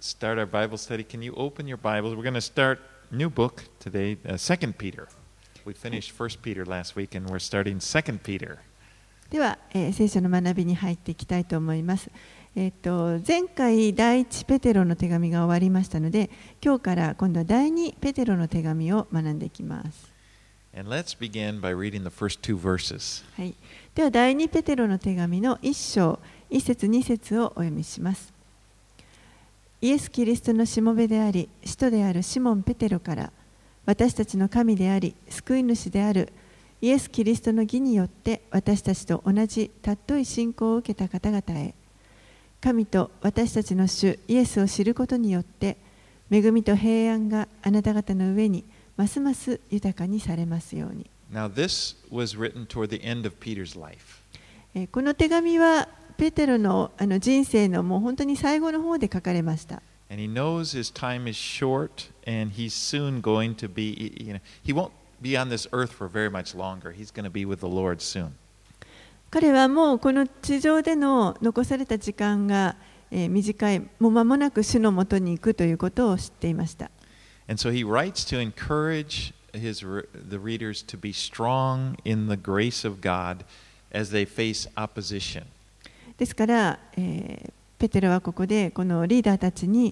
start our Bible study, can you open your Bibles? We're going to start a new book today, 2 Peter. We finished 1 Peter last week, and we're starting 2 Peter. では、聖書の学びに入っていきたいと思います。前回第一ペテロの手紙が終わりましたので、今日から今度は第二ペテロの手紙を学んでいきます。 And let's begin by reading the first two verses. はい、では第二ペテロの手紙の1章1節2節をお読みします。イエス・キリストのしもべであり、使徒であるシモン・ペテロから、私たちの神であり、救い主であるイエス・キリストの義によって私たちと同じ尊い信仰を受けた方々へ、神と私たちの主イエスを知ることによって恵みと平安があなた方の上にますます豊かにされますように。 Now, this was written toward the end of Peter's life. この手紙はペテロの人生のもう本当に最後の方で書かれました。 And he knows his time is short, and he's soon going to be, he won't be on this earth for very much longer. He's going to be with the Lord soon. 彼はもうこの地上での残された時間が短い、もう間もなく主のもとに行くということを知っていました。 And so he writes to encourage the readers to be strong in the grace of God as they face opposition. ですから、ペテロはここでこのリーダーたちに、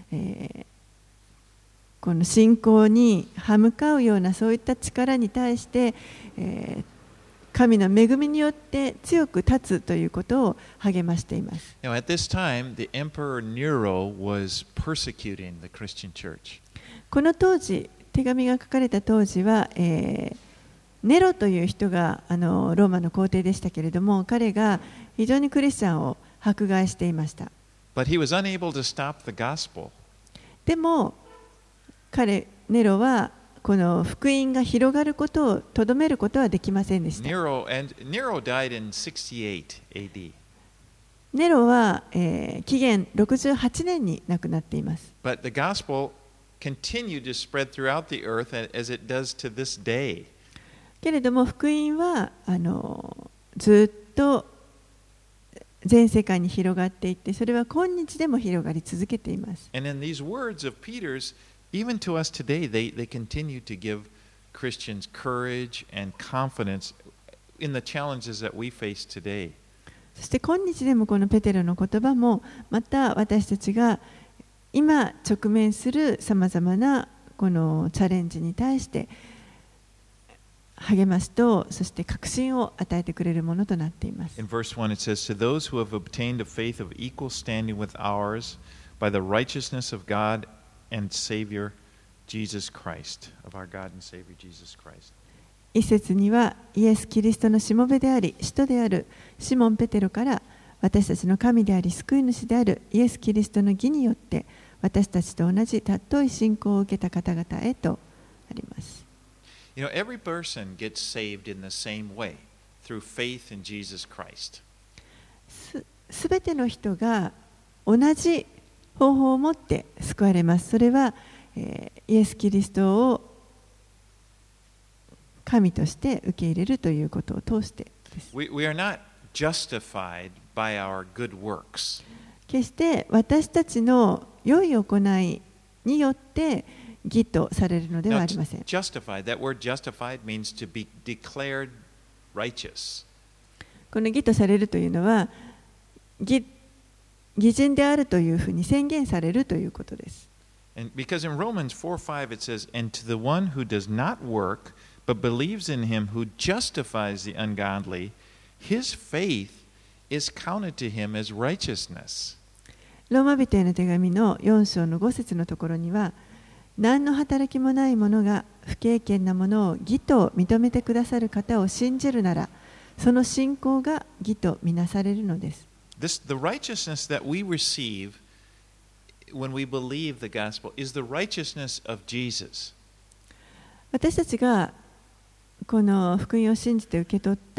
この信仰に歯向かうようなそういった力に対して、神の恵みによって強く立つということを励ましています。 Now, at this time, the Emperor Nero was persecuting the Christian church. この当時、手紙が書かれた当時は、ネロという人がローマの皇帝でしたけれども、彼が非常にクリスチャンを迫害していました。 But he was unable to stop the gospel. でも、ネロはこの福音が広がることをとどめることはできませんでした。 Nero died in 68 AD. ネロは、紀元68年に亡くなっています。 But the gospel continued to spread throughout the earth as it does to this day. けれども福音はずっと全世界に広がっていって、それは今日でも広がり続けています。 And in these words of Peter's, even to us today, they continue to give Christians courage and confidence in the challenges that we face today. そして今日でもこのペテロの言葉もまた私たちが今直面するさまざまなこのチャレンジに対して励ますと、そして確信を与えてくれるものとなっています。 In verse 1 it says, To those who have obtained a faith of equal standing with ours by the righteousness of God and Savior Jesus Christ, of our God and Savior Jesus Christ. 一節にはイエス・キリストのしもべであり、使徒であるシモン・ペテロから私たちの神であり、救い主であるイエス・キリストの義によって私たちと同じ尊い信仰を受けた方々へとあります。 You know, every person gets saved in the same way, through faith in Jesus Christ. すべての人が同じ方法を持って救われます。それは、イエス・キリストを神として受け入れるということを通してです。 We are not justified by our good works. 決して私たちの良い行いによって義とされるのではありません。 Justified, that word justified means to be declared righteous. この義とされるというのは義人であるというふうに宣言されるということです。 And because in Romans 4:5 it says, And to the one who does not work, but believes in him who justifies the ungodly, his faith is counted to him as righteousness. ローマ人への手紙の4章の5節のところには、何の働きもない者が不敬虔なものを義と認めてくださる方を信じるなら、その信仰が義とみなされるのです。 The righteousness that we receive when we believe the gospel is the righteousness of Jesus. 私たちがこの福音を信じた時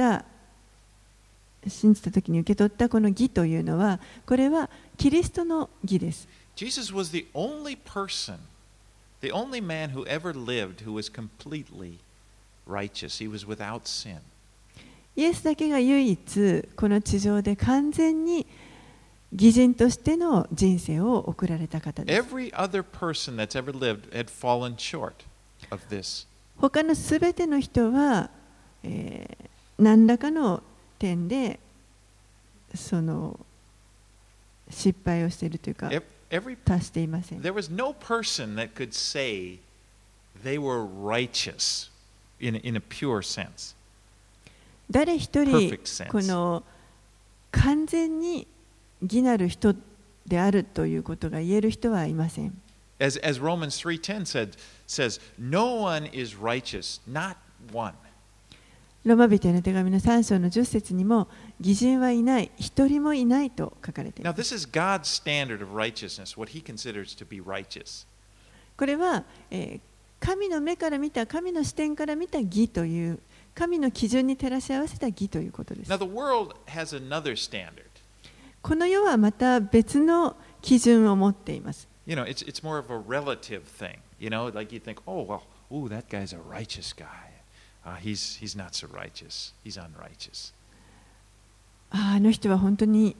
に受け取ったこの義というのは、これはキリストの義です。 Jesus was the only person, the only man who ever lived who was completely righteous. He was without sin. イエスだけが唯一この地上で完全に義人としての人生を送られた方です。 Every other person that's ever lived had fallen short of this. 他のすべての人は、何らかの点でその失敗をしているというか、達していません。 There was no person that could say they were righteous in a pure sense. 誰一人この完全に義なる人であるということが言える人はいません。 As Romans 3:10 says, no one is righteous, not one. ローマ人への手紙の3章の10節にも、義人はいない、一人もいないと書かれています。 Now, this is God's standard of righteousness, what He considers to be righteous. これは、神の目から見た、神の視点から見た義という、神の基準に照らし合わせた義ということです。 Now, the world has another standard. この世はまた別の基準を持っています。 You know, it's more of a relative thing. You know, like you think, oh, well, ooh, that guy's a righteous guy. He's not so righteous. He's unrighteous. あの人は本当に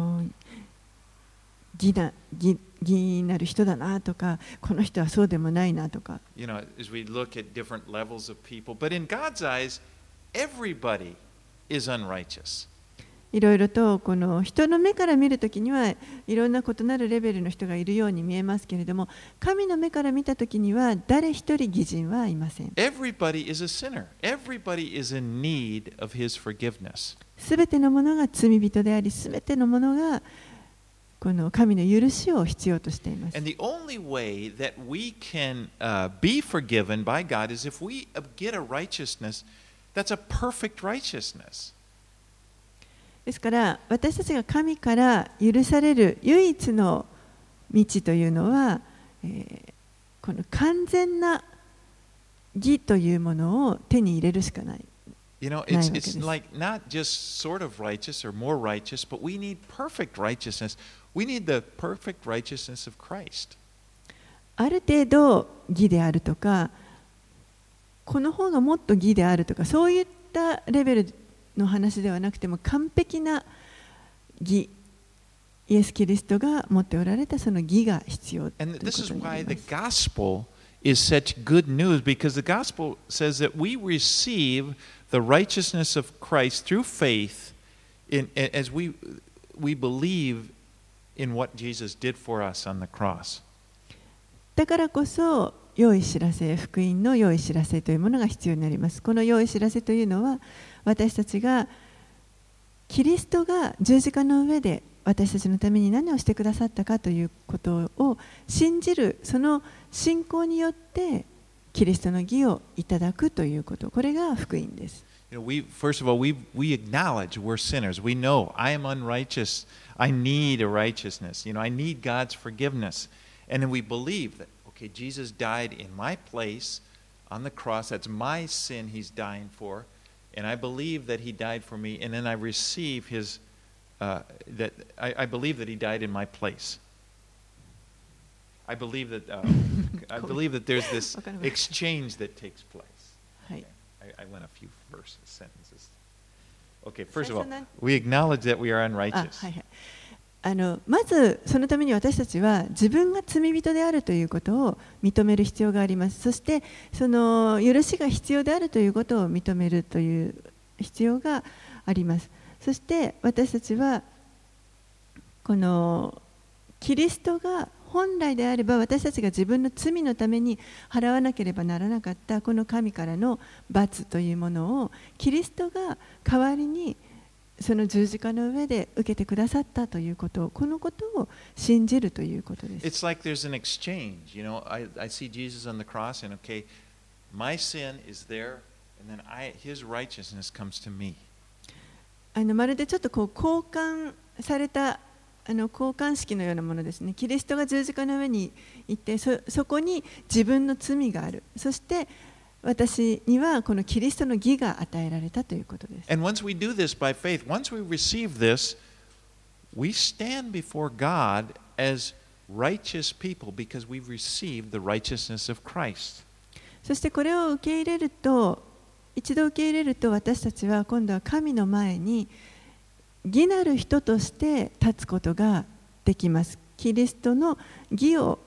義なる人だなとか、この人はそうでもないなとか。 You know, as we look at different levels of people, but in God's eyes, everybody is unrighteous. いろいろとこの人の目から見るときにはいろんな異なるレベルの人がいるように見えますけれども、神の目から見たときには誰一人義人はいません。 Everybody is a sinner. Everybody is in need of His forgiveness. すべてのものが罪人であり、すべてのものがこの神の許しを必要としています。 And the only way that we can be forgiven by God is if we get a righteousness that's a perfect righteousness. ですから私たちが神から許される唯一の道というのは、この完全な義というものを手に入れるしかない。 You know, it's like not just sort of righteous or more righteous, but we need perfect righteousness. We need the perfect righteousness of Christ. ある程度義であるとか、この方がもっと義であるとか、そういったレベルの話ではなくても、完璧な義、イエス・キリストが持っておられたその義が必要ということになります。 And this is why the gospel is such good news, because the gospel says that we receive the righteousness of Christ through faith as we believe in what Jesus did for us on the cross. だからこそ良い知らせ、福音の良い知らせというものが必要になります。この良い知らせというのは、私たちがキリストが十字架の上で私たちのために何をしてくださったかということを信じる、その信仰によってキリストの義をいただくということ、これが福音です。 First of all, we acknowledge we're sinners. We know I am unrighteous. I need a righteousness. You know, I need God's forgiveness. And then we believe that, okay, Jesus died in my place on the cross. That's my sin He's dying for. And I believe that He died for me. And then I receive His, I believe that He died in my place. I believe that there's this exchange that takes place. Okay. I went a few sentences. Okay, first of all, we acknowledge that we are unrighteous. まずそのために私たちは自分が罪人であるということを認める必要があります。そしてその許しが必要であるということを認めるという必要があります。そして私たちはこのキリストが本来であれば私たちが自分の罪のために払わなければならなかったこの神からの罰というものをキリストが代わりにその十字架の上で受けてくださったということ、このことを信じるということです。 It's like there's an exchange. You know, I see Jesus on the cross, and okay, my sin is there, and then His righteousness comes to me. まるでちょっとこう交換された交換式のようなものですね。キリストが十字架の上に行って、そこに自分の罪がある。そして私にはこのキリストの義が与えられたということです。 And once we do this by faith, once we receive this, we stand before God as righteous people because we've received the righteousness of Christ. そしてこれを受け入れると、一度受け入れると私たちは今度は神の前に義なる人として立つことができます。キリストの義を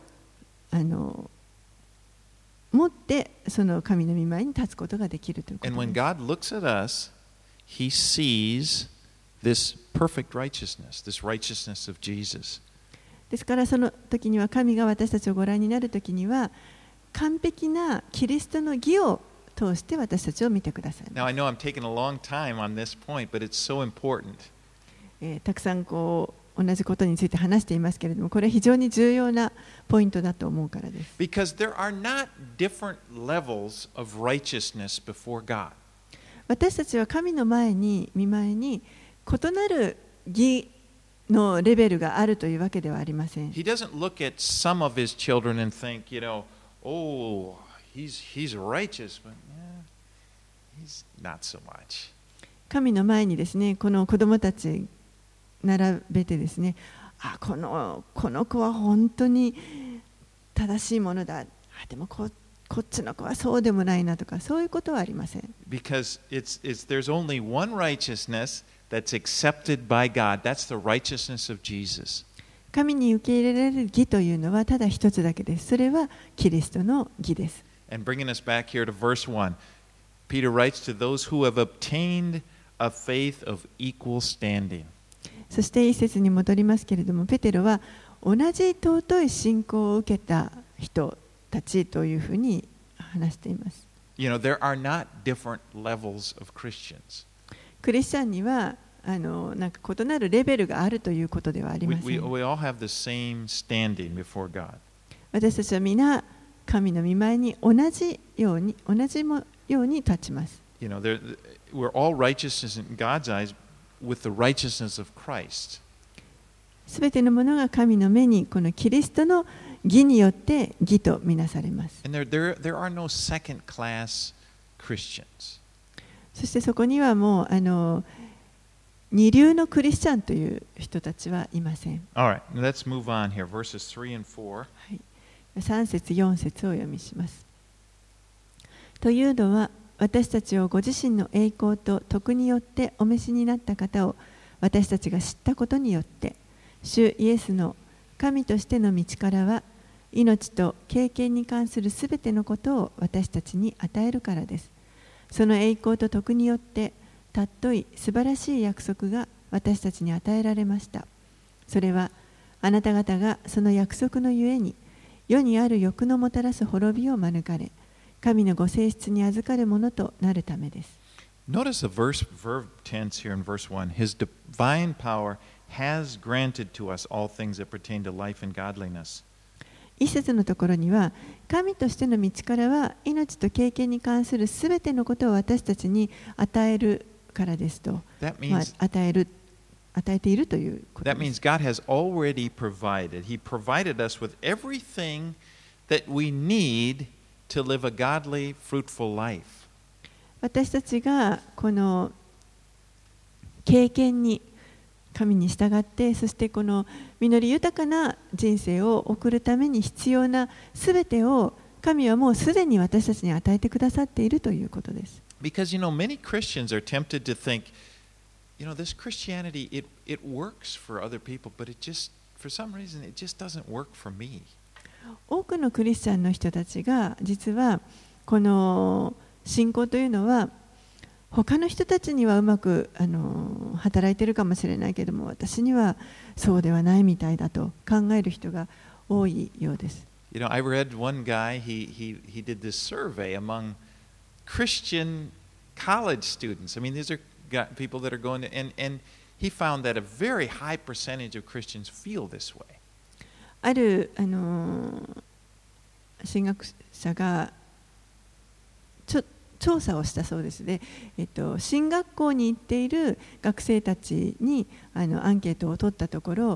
持ってその神の御前に立つことができるということです。 And when God looks at us, He sees this perfect righteousness, this righteousness of Jesus. ですからその時には神が私たちをご覧になる時には完璧なキリストの義を通して私たちを見てください。 Now I know I'm taking a long time on this point, but it's so important. たくさん同じことについて話していますけれども、これは非常に重要なポイントだと思うからです。 Because there are not different levels of righteousness before God. 私たちは神の前に、御前に異なる義のレベルがあるというわけではありません。 He doesn't look at some of his children and think, oh, he's righteous, but he's not so much. 神の前にですね、この子供たち並べてですね、この子は本当に正しいものだ。でもこっちの子はそうでもないなとか、そういうことはありません。 Because there's only one righteousness that's accepted by God. That's the righteousness of Jesus. 神に受け入れられる義というのはただ一つだけです。それはキリストの義です。 And bringing us back here to verse 1, Peter writes to those who have obtained a faith of equal standing. そして一節に戻りますけれども、ペテロは同じ尊い信仰を受けた人たちというふうに話しています。 There are not different levels of Christians. クリスチャンにはなんか異なるレベルがあるということではありません。 We all have the same standing before God. 私たちは皆神の御前に同じように立ちます。 We're all righteous in God's eyes with the righteousness of Christ. すべてのものが神の目にこのキリストの義によって義とみなされます。 And there are no second-class Christians. そしてそこにはもう二流のクリスチャンという人たちはいません。 All right, let's move on here. Verses 3 and 4. はい、3節4節をお読みします。というのは私たちをご自身の栄光と徳によってお召しになった方を私たちが知ったことによって主イエスの神としての道からは命と経験に関するすべてのことを私たちに与えるからです。その栄光と徳によって尊い素晴らしい約束が私たちに与えられました。それはあなた方がその約束のゆえに世にある欲のもたらす滅びを免れ神のご性質に預かるものとなるためです。 Notice the verb tense here in verse 1. His divine power has granted to us all things that pertain to life and godliness. 一節のところには神としての道からは命と経験に関するすべてのことを私たちに与えるからですと、与えているということです。 That means God has already provided. He provided us with everything that we need to live a godly, fruitful life. 私たちがこの経験に神に従って、そしてこの実り豊かな人生を送るために必要なすべてを神はもうすでに私たちに与えてくださっているということです。 Because many Christians are tempted to think, this Christianity, it works for other people, but for some reason, it just doesn't work for me. 多くのクリスチャンの人たちが実はこの信仰というのは他の人たちにはうまく働いているかもしれないけれども私にはそうではないみたいだと考える人が多いようです。 I read one guy, he did this survey among Christian college students. I mean, these are people that are going to, and he found that a very high percentage of Christians feel this way. ある神学者が調査をしたそうですね。進学校に行っている学生たちにアンケートを取ったところ、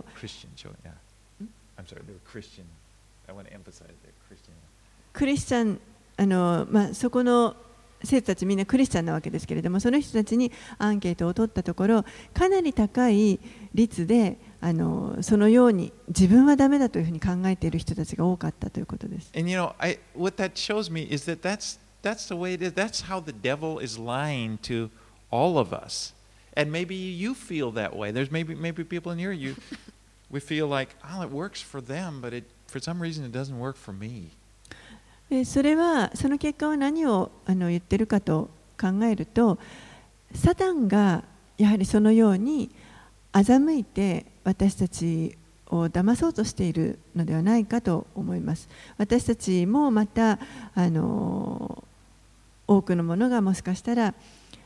クリスチャン、そこの生徒たちみんなクリスチャンなわけですけれども、その人たちにアンケートを取ったところ、かなり高い率でそのように自分はダメだというふうに考えている人たちが多かったということです。 And what that shows me is that that's the way it is. That's how the devil is lying to all of us. And maybe you feel that way. There's maybe people in here, we feel like, oh, it works for them, but for some reason it doesn't work for me. それはその結果は何を言ってるかと考えると、サタンがやはりそのように欺いて私たちを騙そうとしているのではないかと思います。私たちもまた多くのものがもしかしたら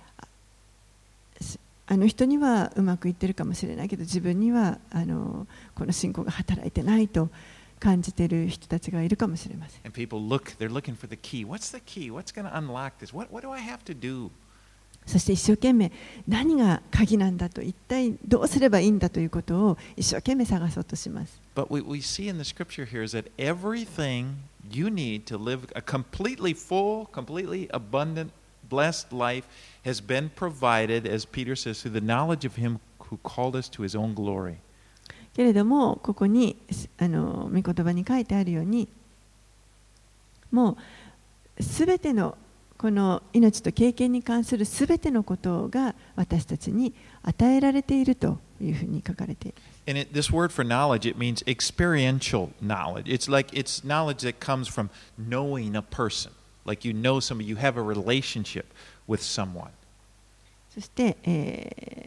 あの人にはうまくいってるかもしれないけど、自分にはこの信仰が働いてないと感じている人たちがいるかもしれません。 And people they're looking for the key. What's the key? What's going to unlock this? What do I have to do? そして一生懸命何が鍵なんだと、一体どうすればいいんだということを一生懸命探そうとします。 But what we see in the scripture here is that everything you need to live a completely full, completely abundant, blessed life has been provided, as Peter says, through the knowledge of Him who called us to His own glory. けれどもここに御言葉に書いてあるように、もうすべてのこの命と経験に関するすべてのことが私たちに与えられているというふうに書かれている。 And this word for knowledge, it means experiential knowledge. It's like it's knowledge that comes from knowing a person. Like you know somebody, you have a relationship with someone. そして、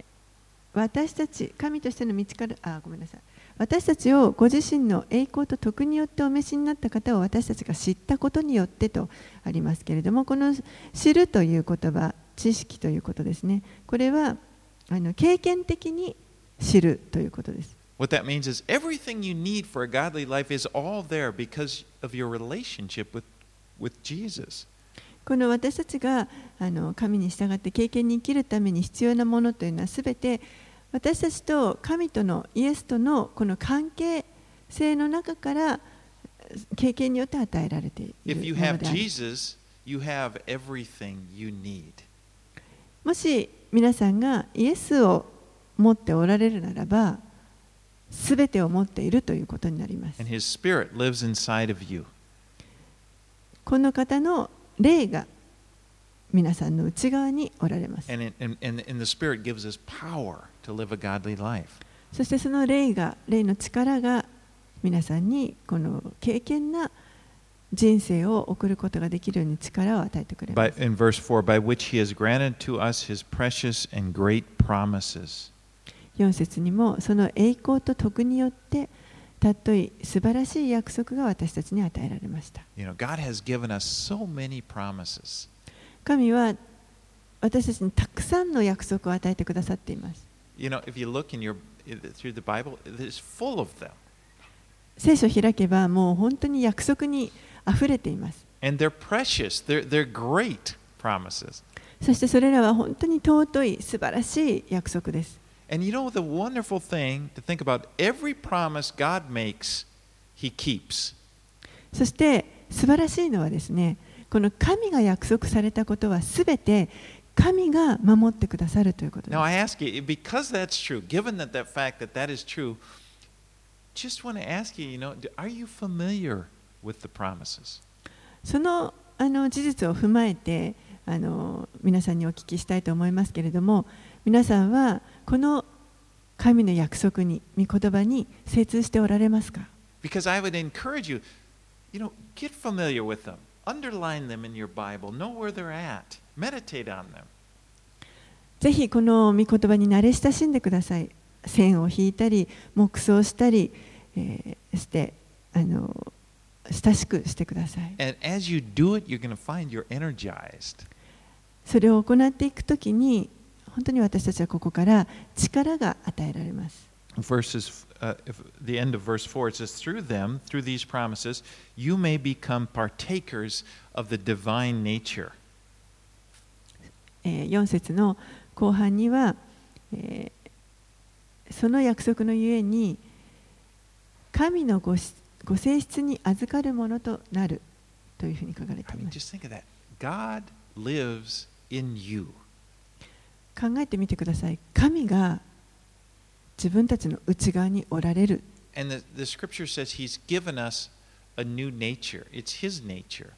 私たち、神としての道から、ごめんなさい。私たちをご自身の栄光と徳によってお召しになった方を私たちが知ったことによってとありますけれども、この知るという言葉、知識ということですね。これは経験的に知るということです。 What that means is everything you need for a godly life is all there because of your relationship with Jesus. この私たちが神に従って経験に生きるために必要なものというのはすべて私たちと神とのイエスとのこの関係性の中から経験によって与えられているものである。 If you have Jesus, you have everything you need. もし皆さんがイエスを持っておられるならば、すべてを持っているということになります。 And His Spirit lives inside of you. この方の霊が皆さんの内側におられます。 And the Spirit gives us power to live a godly life. そしてその霊の力が皆さんにこの敬虔な人生を送ることができるように力を与えてくれます。 In verse 4, by which He has granted to us His precious and great promises. 4節にもその栄光と徳によってたっとい素晴らしい約束が私たちに与えられました。 You know, God has given us so many promises. 神は私たちにたくさんの約束を与えてくださっています。 You know, if you look through the Bible, it's full of them. 聖書を開けばもう本当に約束にあふれています。 And they're precious. They're great promises. そしてそれらは本当に尊い素晴らしい約束です。 And you know the wonderful thing to think about, every promise God makes, He keeps. そして素晴らしいのはですね、この神が約束されたことはすべて神が守ってくださるということです。 Now I ask you, because that's true, given that fact that is true, just want to ask you, are you familiar with the promises? その事実を踏まえて皆さんにお聞きしたいと思いますけれども、皆さんはこの神の約束に、御言葉に精通しておられますか？ Because I would encourage you, get familiar with them, underline them in your Bible, know where they're at, meditate on them. ぜひこの御言葉に慣れ親しんでください。線を引いたり、黙想したり、して親しくしてください。 And as you do it, you're going to find you're energized. それを行っていくときに、本当に私たちはここから力が与えられます。 The end of verse 4, it says, through them, through these promises, you may become partakers of the divine nature. 4節の後半には、その約束のゆえに神のご性質に預かるものとなるというふうに書かれています。 Just think of that. God lives in you. 考えてみてください。神が自分たちの内側におられる。 And the scripture says He's given us a new nature. It's His nature.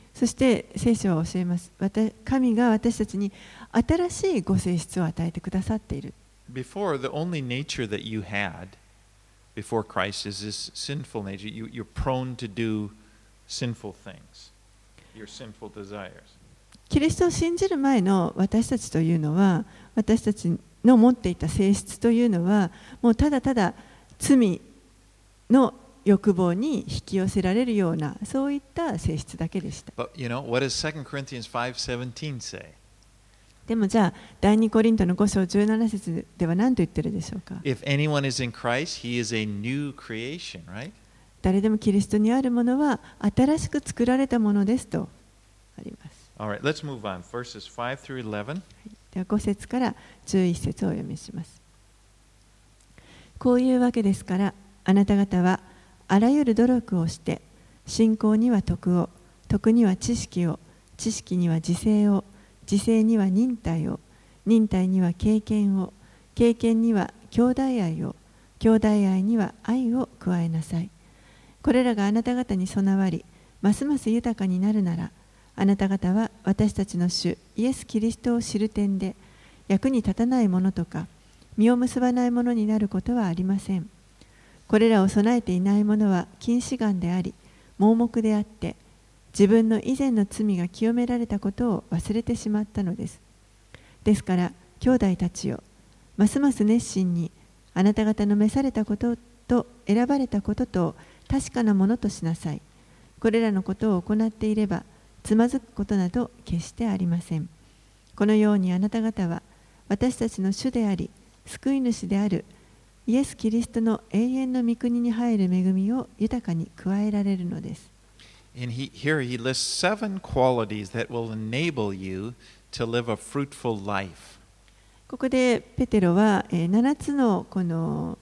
そして聖書は教えます。神が私たちに新しいご性質を与えてくださっている。 Before, the only nature that you had before Christ is this sinful nature. You're prone to do sinful things, your sinful desires. キリストを信じる前の私たちというのは、私たちの持っていた性質というのは、もうただただ罪の欲望に引き寄せられるような、そういった性質だけでした。 But you know, what does 2 Corinthians 5:17 say? でもじゃあ、第2コリントの5章17節では何と言ってるでしょうか。 If anyone is in Christ, he is a new creation, right? 誰でもキリストにあるものは新しく作られたものですとあります。 All right, let's move on. Verses 5 through 11. では5節から11節をお読みします。こういうわけですから、あなた方はあらゆる努力をして、信仰には徳を、徳には知識を、知識には自制を、自制には忍耐を、忍耐には経験を、経験には兄弟愛を、兄弟愛には愛を加えなさい。これらがあなた方に備わり、ますます豊かになるなら、あなた方は私たちの主イエス・キリストを知る点で役に立たないものとか実を結ばないものになることはありません。これらを備えていないものは近視眼であり盲目であって、自分の以前の罪が清められたことを忘れてしまったのです。ですから兄弟たちよ、ますます熱心にあなた方の召されたことと選ばれたことと確かなものとしなさい。これらのことを行っていればつまずくことなど決してありません。このようにあなた方は私たちの主であり救い主であるイエス・キリストの永遠の御国に入る恵みを豊かに加えられるのです。 And here he lists 7 qualities that will enable you to live a fruitful life. ここでペテロは7つのこの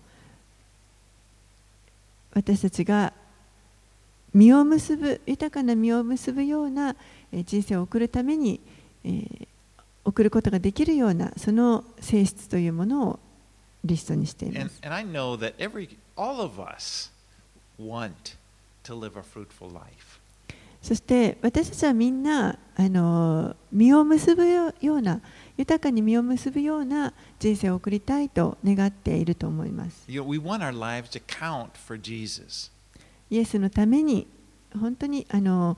私たちが実を結ぶ、豊かな実を結ぶような人生を送るために送ることができるようなその性質というものをリストにしています。 And I know that all of us want to live a fruitful life. そして私たちはみんな実を結ぶような、豊かに実を結ぶような人生を送りたいと願っていると思います。 We want our lives to count for Jesus. イエスのために本当に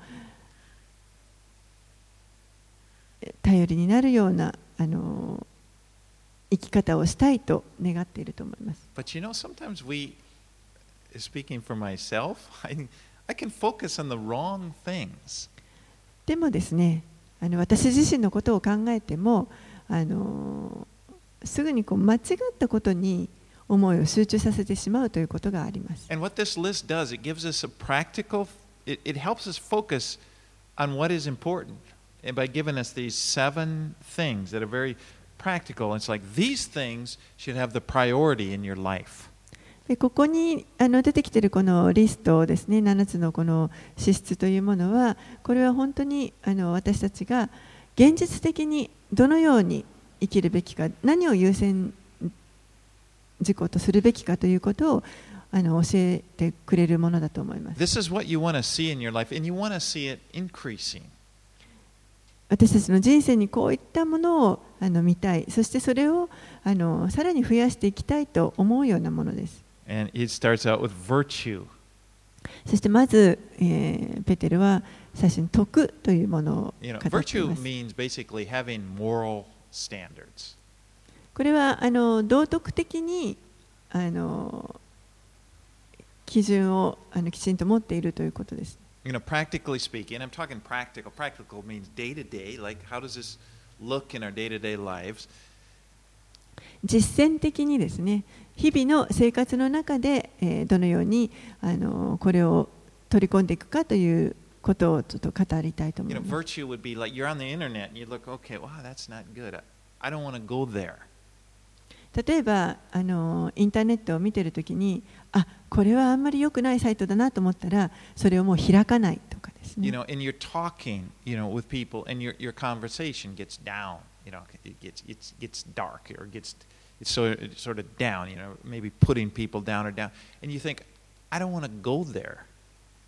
頼りになるような生き方をしたいと願っていると思います。 But you know, sometimes speaking for myself, I can focus on the wrong things. でもですね、私自身のことを考えてもすぐに間違ったことに思いを集中させてしまうということがあります。 And what this list does, it gives us a practical, it helps us focus on what is important. And by giving us these 7 things that are very practical, it's like these things should have the priority in your life. でここに出てきているこのリストですね、7つのこの資質というものは、これは本当に私たちが現実的にどのように生きるべきか、何を優先事項とするべきかということを教えてくれるものだと思います。 This is what you want to see in your life, and you want to see it increasing. 私たちの人生にこういったものを見たい、そしてそれをさらに増やしていきたいと思うようなものです。 And it starts out with virtue. そしてまず、ペテルは最初に徳というものを語っています。 Virtue means basically having moral standards. これは道徳的に基準をきちんと持っているということです。 Practically speaking, I'm talking practical. Practical means day to day. Like, how does this look in our day to day lives? 実践的にですね、日々の生活の中で、どのようにこれを取り込んでいくかということをちょっと語りたいと思います。 Virtue would be like you're on the internet and you look, okay, wow, that's not good. I don't want to go there. 例えばインターネットを見ているときに、これはあんまり良くないサイトだなと思ったら、それをもう開かないとかですね。 And you're talking, with people, and your conversation gets down. It gets dark or it's sort of down. Maybe putting people down or down, and you think, I don't want to go there.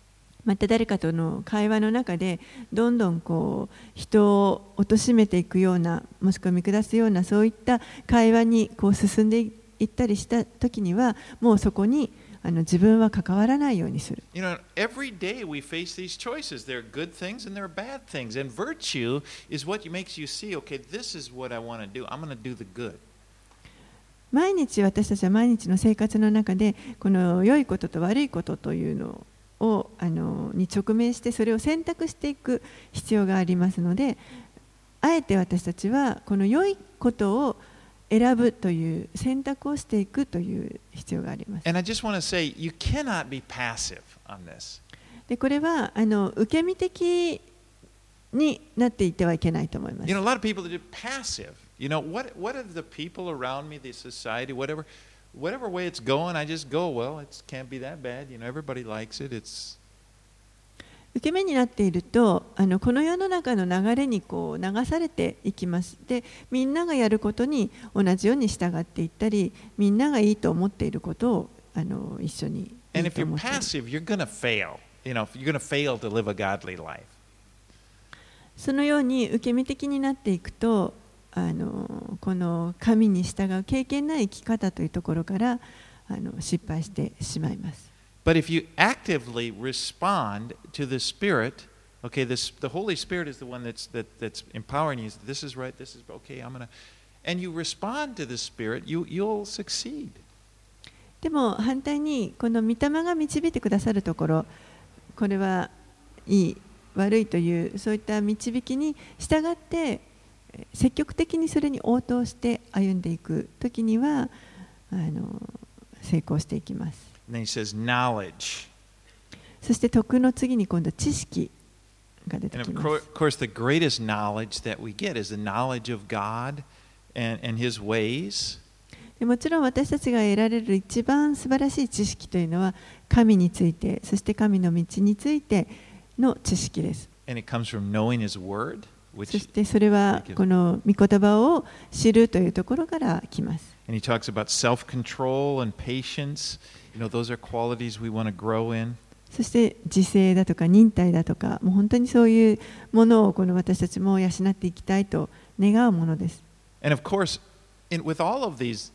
また誰かとの会話の中でどんどんこう人を貶めていくような、もしくは見下すようなそういった会話にこう進んでいったりした時には、もうそこに自分は関わらないようにする。 You know, every day we face these choices. There are good things and there are bad things. And virtue is what makes you see, okay, this is what I want to do. I'm going to do the good. 毎日私たちは毎日の生活の中でこの良いことと悪いことというのをに直面してそれを選択していく必要がありますので、あえて私たちはこの良いことを選ぶという選択をしていくという必要があります。 And I just want to say, you cannot be passive on this. でこれは受け身的になっていてはいけないと思います。 You know, a lot of people that are passive. You know, what are the people around me, the society, whatever way it's going, I just go, well, it can't be that bad. You know, everybody likes it. It's 受け身になっているとこの世の中の流れにこう流されていきます。で、みんながやることに同じように従っていったり、みんながいいと思っていることを一緒にいいと思っている。 And if you're passive, you're going to fail. You know, you're going to fail to live a godly life. そのように受け身的になっていくと、この神に従う経験ない生き方というところから失敗してしまいます。 But if you actively respond to the Spirit, okay, the Holy Spirit is the one that's empowering you. This is right. This is okay. I'm gonna, and you respond to the Spirit, you'll succeed. でも反対にこの御霊が導いてくださるところ、これはいい悪いというそういった導きに従って積極的にそれに応答して歩んでいくときには成功していきます。 And then he says knowledge. そして徳の次に今度知識が出て And き of ます。 course, the greatest knowledge that we get is the knowledge of God and His ways. でもちろん私たちが得られる一番素晴らしい知識というのは神について、そして神の道についての知識です。 And it comes from knowing His Word, そ which してそれはこの御言葉を知るというところから来ます。 and he talks about self-control and patience. You know, those are qualities we want to grow in. そして自制だとか忍耐だとか、もう本当にそういうものをこの私たちも養っていきたいと願うものです。 And of course, with all of these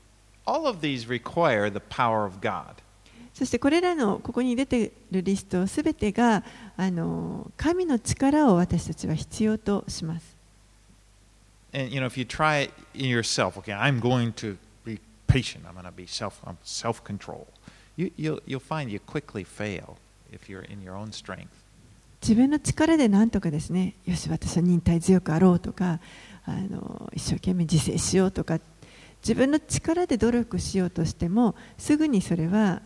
require the power of God. そしてこれらのここに出ているリストすべてが神の力を私たちは必要とします。 And you know, if you try it in yourself, okay, I'm going to be patient. I'm going to be self-control. You'll find you quickly fail if you're in your own strength. 自分の力で何とかですね、よし私は忍耐強くあろうとか、一生懸命自制しようとか、自分の力で努力しようとしてもすぐにそれは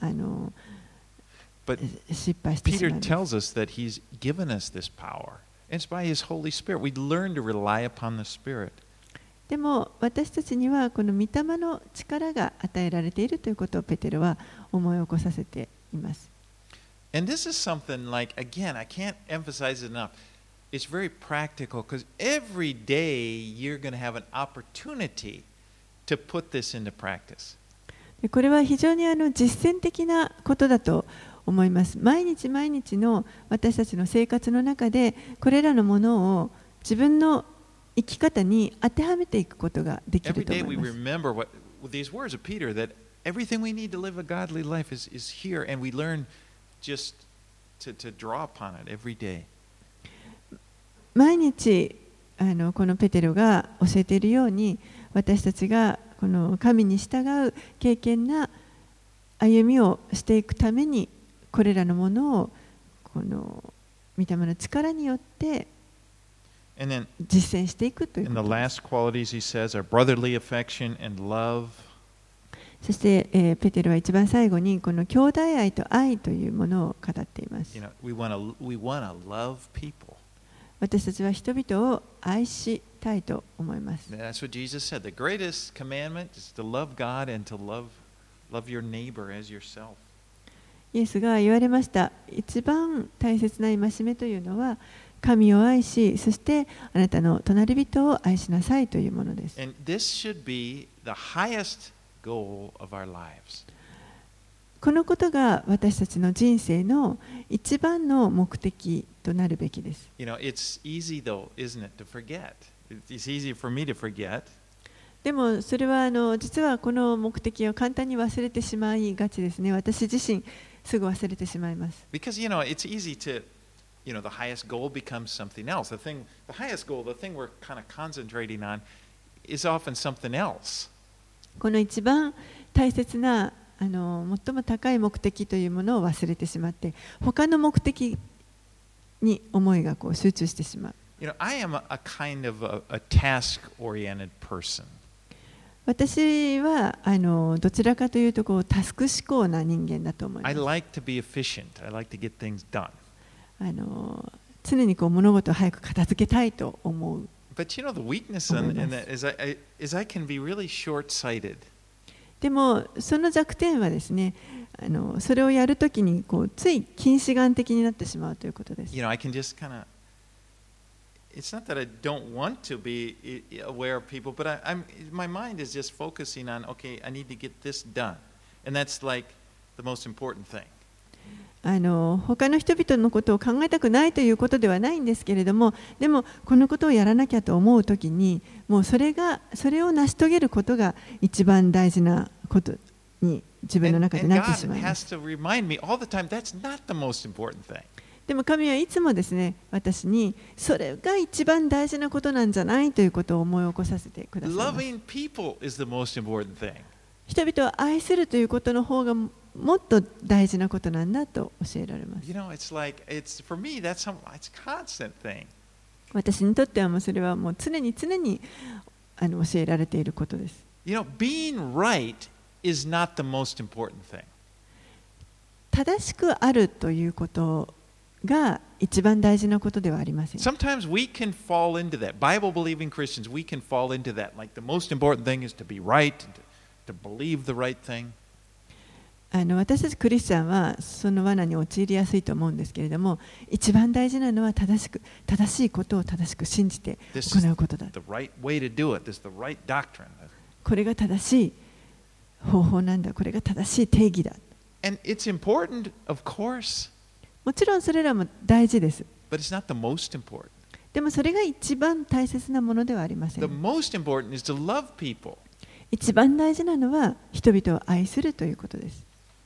But 失敗してしま Peter います。 tells us that he's given us this power. It's by his Holy Spirit. We learn to rely upon the Spirit. でも私たちにはこの御霊の力が与えられているということをペテロは思い起こさせています。 And this is something like, again, I can't emphasize it enough. It's very practical because every day you're going to have an opportunity to put this into practice. でこれは非常に実践的なことだと思います。毎日毎日の私たちの生活の中でこれらのものを自分の生き方に当てはめていくことができ Every ると day 思 we います。 remember with these words of Peter that everything we need to live a godly life is here, and we learn just to draw upon it every day. 毎日このペテロが教えているように私たちがこの神に従う敬虔な歩みをしていくためにこれらのものをこの御霊の力によって And then 実践していくという in こ the とです。 last qualities he says are brotherly affection and love. そして、ペテロは一番最後にこの兄弟愛と愛というものを語っています。 You know, we want to love people. 私たちは人々を愛したいと思います。 And that's what Jesus said. The greatest commandment is to love God and to love your neighbor as yourself. イエスが言われました。一番大切な戒めというのは神を愛し、そしてあなたの隣人を愛しなさいというものです。 And this should be the highest goal of our lives. このことが私たちの人生の一番の目的となるべきです。 You know, it's easy though, isn't it, to forget? It's easy for me to forget. でもそれは実はこの目的を簡単に忘れてしまいがちですね。私自身すぐ忘れてしまいます。 Because, you know, it's easy to, you know, the highest goal becomes something else. The highest goal, the thing we're kind of concentrating on, is often something else. この一番大切な最も高い目的というものを忘れてしまって、他の目的に思いがこう集中してしまう。 You know, I am a kind of a task-oriented person. 私はどちらかというとこうタスク思考な人間だと思いま I す。 like to be efficient. I like to get things done. 常にこう物事を早く片付けたいと思う。 But you know, the weakness in that is I can be really short-sighted. でもその弱点はですね、それをやるときにこうつい近視眼的になってしまうということです。 You know, I can just kind of. It's not that I don't want to be aware of people, but my mind is just focusing on, okay, I need to get this done. And that's like the most important thing. 他の人々のことを考えたくないということではないんですけれども、でもこのことをやらなきゃと思うときに、もうそれを成し遂げることが一番大事なことに自分の中でなってしまいます。 And God has to remind me all the time that's not the most important thing. でも神はいつもですね、私にそれが一番大事なことなんじゃないということを思い起こさせてくださいます。 Loving people is the most important thing. 人々を愛するということの方がもっと大事なことなんだと教えられます。 You know, it's like for me it's a constant thing. 私にとってはもうそれはもう常に教えられていることです。 You know, being right is not the most important thing. 正しくあるということが一番大事なことではありません。 Sometimes we can fall into that. Bible-believing Christians, we can fall into that. Like the most important thing is to be right, to believe the right thing. 私たちクリスチャンはその罠に陥りやすいと思うんですけれども、一番大事なのは正しいことを正しく信じて行うことだ。 The right way to do it. This is the right doctrine. これが正しい方法なんだ。これが正しい定義だ。 And it's important, of course. もちろんそれらも大事です。 But it's not the most important. でもそれが一番大切なものではありません。 The most important is to love people. 一番大事なのは人々を愛するということです。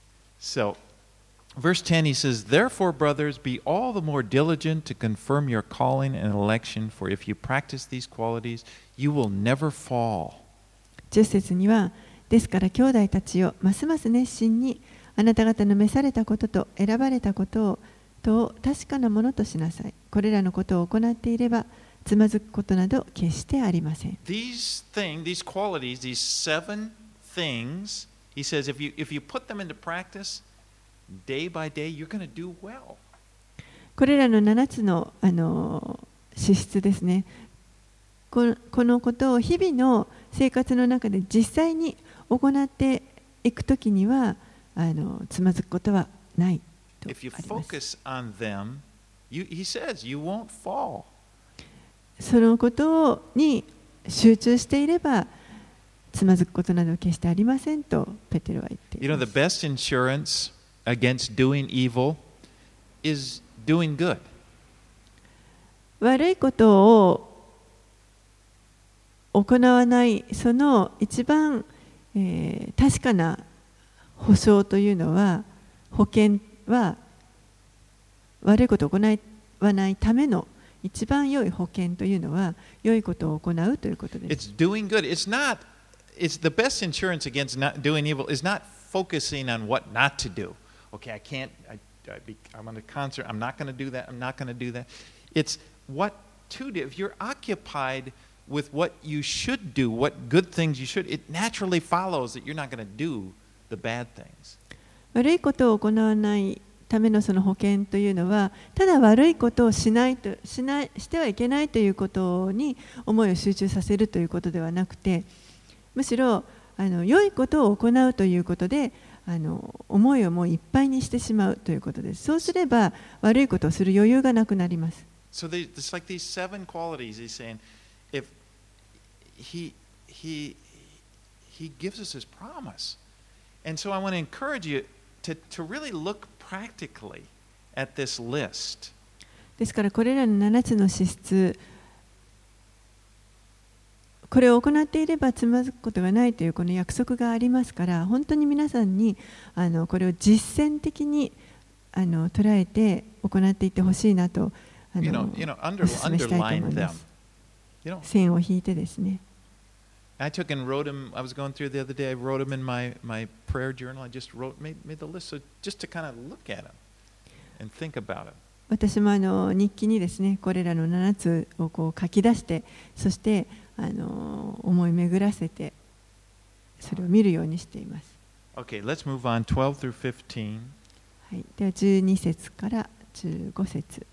So, verse 10 he says, Therefore, brothers, be all the more diligent to confirm your calling and election, for if you practice these qualities, you will never fall. 10節には、ですから兄弟たちよ、ますます熱心にあなた方の召されたことと選ばれたことを確かなものとしなさい。これらのことを行っていれば、つまずくことなど決してありません。 These qualities, these 7 things, he says, if you put them into practice day by day, you're going to do well. これらの7つの、資質ですね。このことを日々の生活の中で実際に行っていくときにはつまずくことはないとあります。 If you focus on them, he says, you won't fall. そのことに集中していればつまずくことなど決してありませんとペテロは言っています。 You know, the best insurance against doing evil is doing good. 悪いことを行わないその一番、確かな保証というのは保険は悪いことを行わないための一番良い保険というのは良いことを行うということです。 It's doing good. It's the best insurance against not doing evil is not focusing on what not to do. Okay, I'm on a concert, I'm not going to do that, I'm not going to do that. It's what to do. If you're occupied with what you should do, what good things you should, it naturally follows that you're not going to do the bad things. 悪いことを行わないためのその保険というのは、ただ悪いことをしてはいけないということに思いを集中させるということではなくて、むしろ良いことを行うということで思いをもういっぱいにしてしまうということです。そうすれば悪いことをする余裕がなくなります。 So it's like these 7 qualities. He's saying, if he gives us his promise, and so I want to encourage you to really look practically at this list. ですからこれらの7つの資質、これを行っていればつまずくことがないというこの約束がありますから、本当に皆さんにこれを実践的に捉えて行っていってほしいなとお勧めしたいと思います。線を引いてですね。 I took and wrote them. I was going through the other day. I wrote them in my prayer journal. I just made the list, so just to kind of look at them and think about it. 私も日記にですね、これらの7つをこう書き出して、そして思い巡らせて、それを見るようにしています。 Okay, let's move on. 12 through 15. はい、では12節から15節。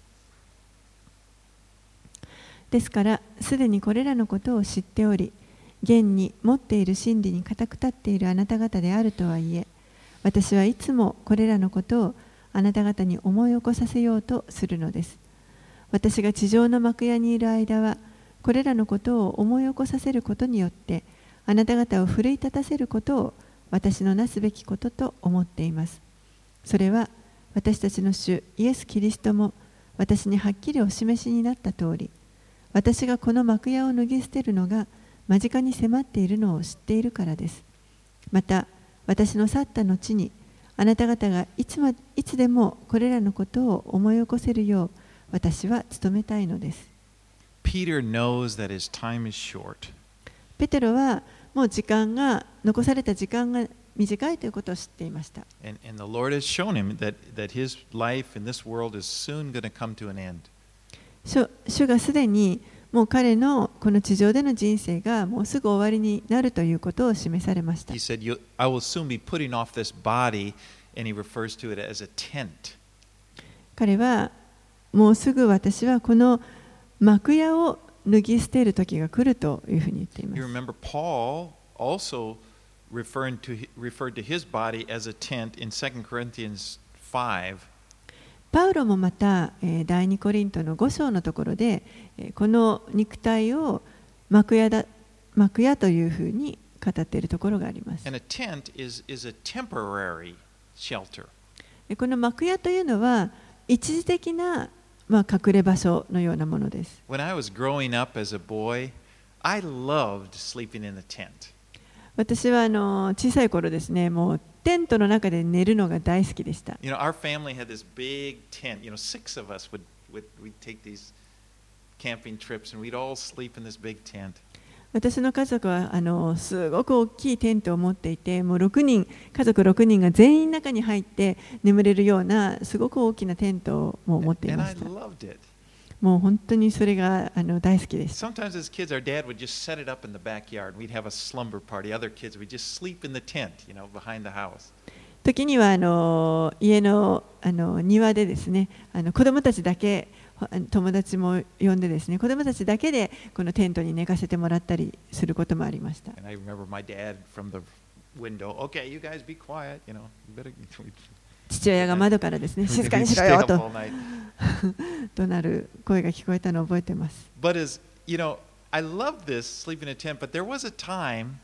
ですから、すでにこれらのことを知っており、現に持っている真理に固く立っているあなた方であるとはいえ、私はいつもこれらのことをあなた方に思い起こさせようとするのです。私が地上の幕屋にいる間は、これらのことを思い起こさせることによって、あなた方を奮い立たせることを私のなすべきことと思っています。それは私たちの主イエス・キリストも私にはっきりお示しになった通り、私がこの幕屋を脱ぎ捨てるのが間近に迫っているのを知っているからです。また、私の去った後に、あなた方がいつでもこれらのことを思い起こせるよう、私は努めたいのです。 Peter knows that his time is short. ペテロはもう残された時間が短いということを知っていました。 And the Lord has shown him that his life in this world is soon going to come to an end. 主がすでにもう彼のこの地上での人生がもうすぐ終わりになるということを示されました。 He said, I will soon be putting off this body, and he refers to it as a tent. 彼はもうすぐ私はこの幕屋を脱ぎ捨てる時が来るというふうに言っています。 You remember Paul also referred to his body as a tent in 2 Corinthians 5. パウロもまた第2コリントの5章のところでこの肉体を幕屋というふうに語っているところがあります。 And a tent is a temporary shelter. この幕屋というのは一時的な隠れ場所のようなものです。 When I was growing up as a boy, I loved sleeping in the tent. 私は小さい頃ですね、もうテントの中で寝るのが大好きでした。 You know, our family had this big tent. You know, 6 of us we'd take these camping trips, and we'd all sleep in this big tent. 私の家族はすごく大きいテントを持っていて、もう家族6人が全員中に入って眠れるようなすごく大きなテントを持っていました。もう本当にそれが大好きでした。 Sometimes as kids, our dad would just set it up in the backyard. We'd have a slumber party. Other kids would just sleep in the tent, you know, behind the house. 時には家の庭でですね、子供たちだけ、友達も呼んでですね、子供たちだけでこのテントに寝かせてもらったりすることもありました。 And I remember my dad from the window, "Okay, you guys be quiet, you know." 父親が窓からですね、静かにしろよと怒鳴る声が聞こえたのを覚えています。 But as you know, I love this sleeping in a tent. But there was a time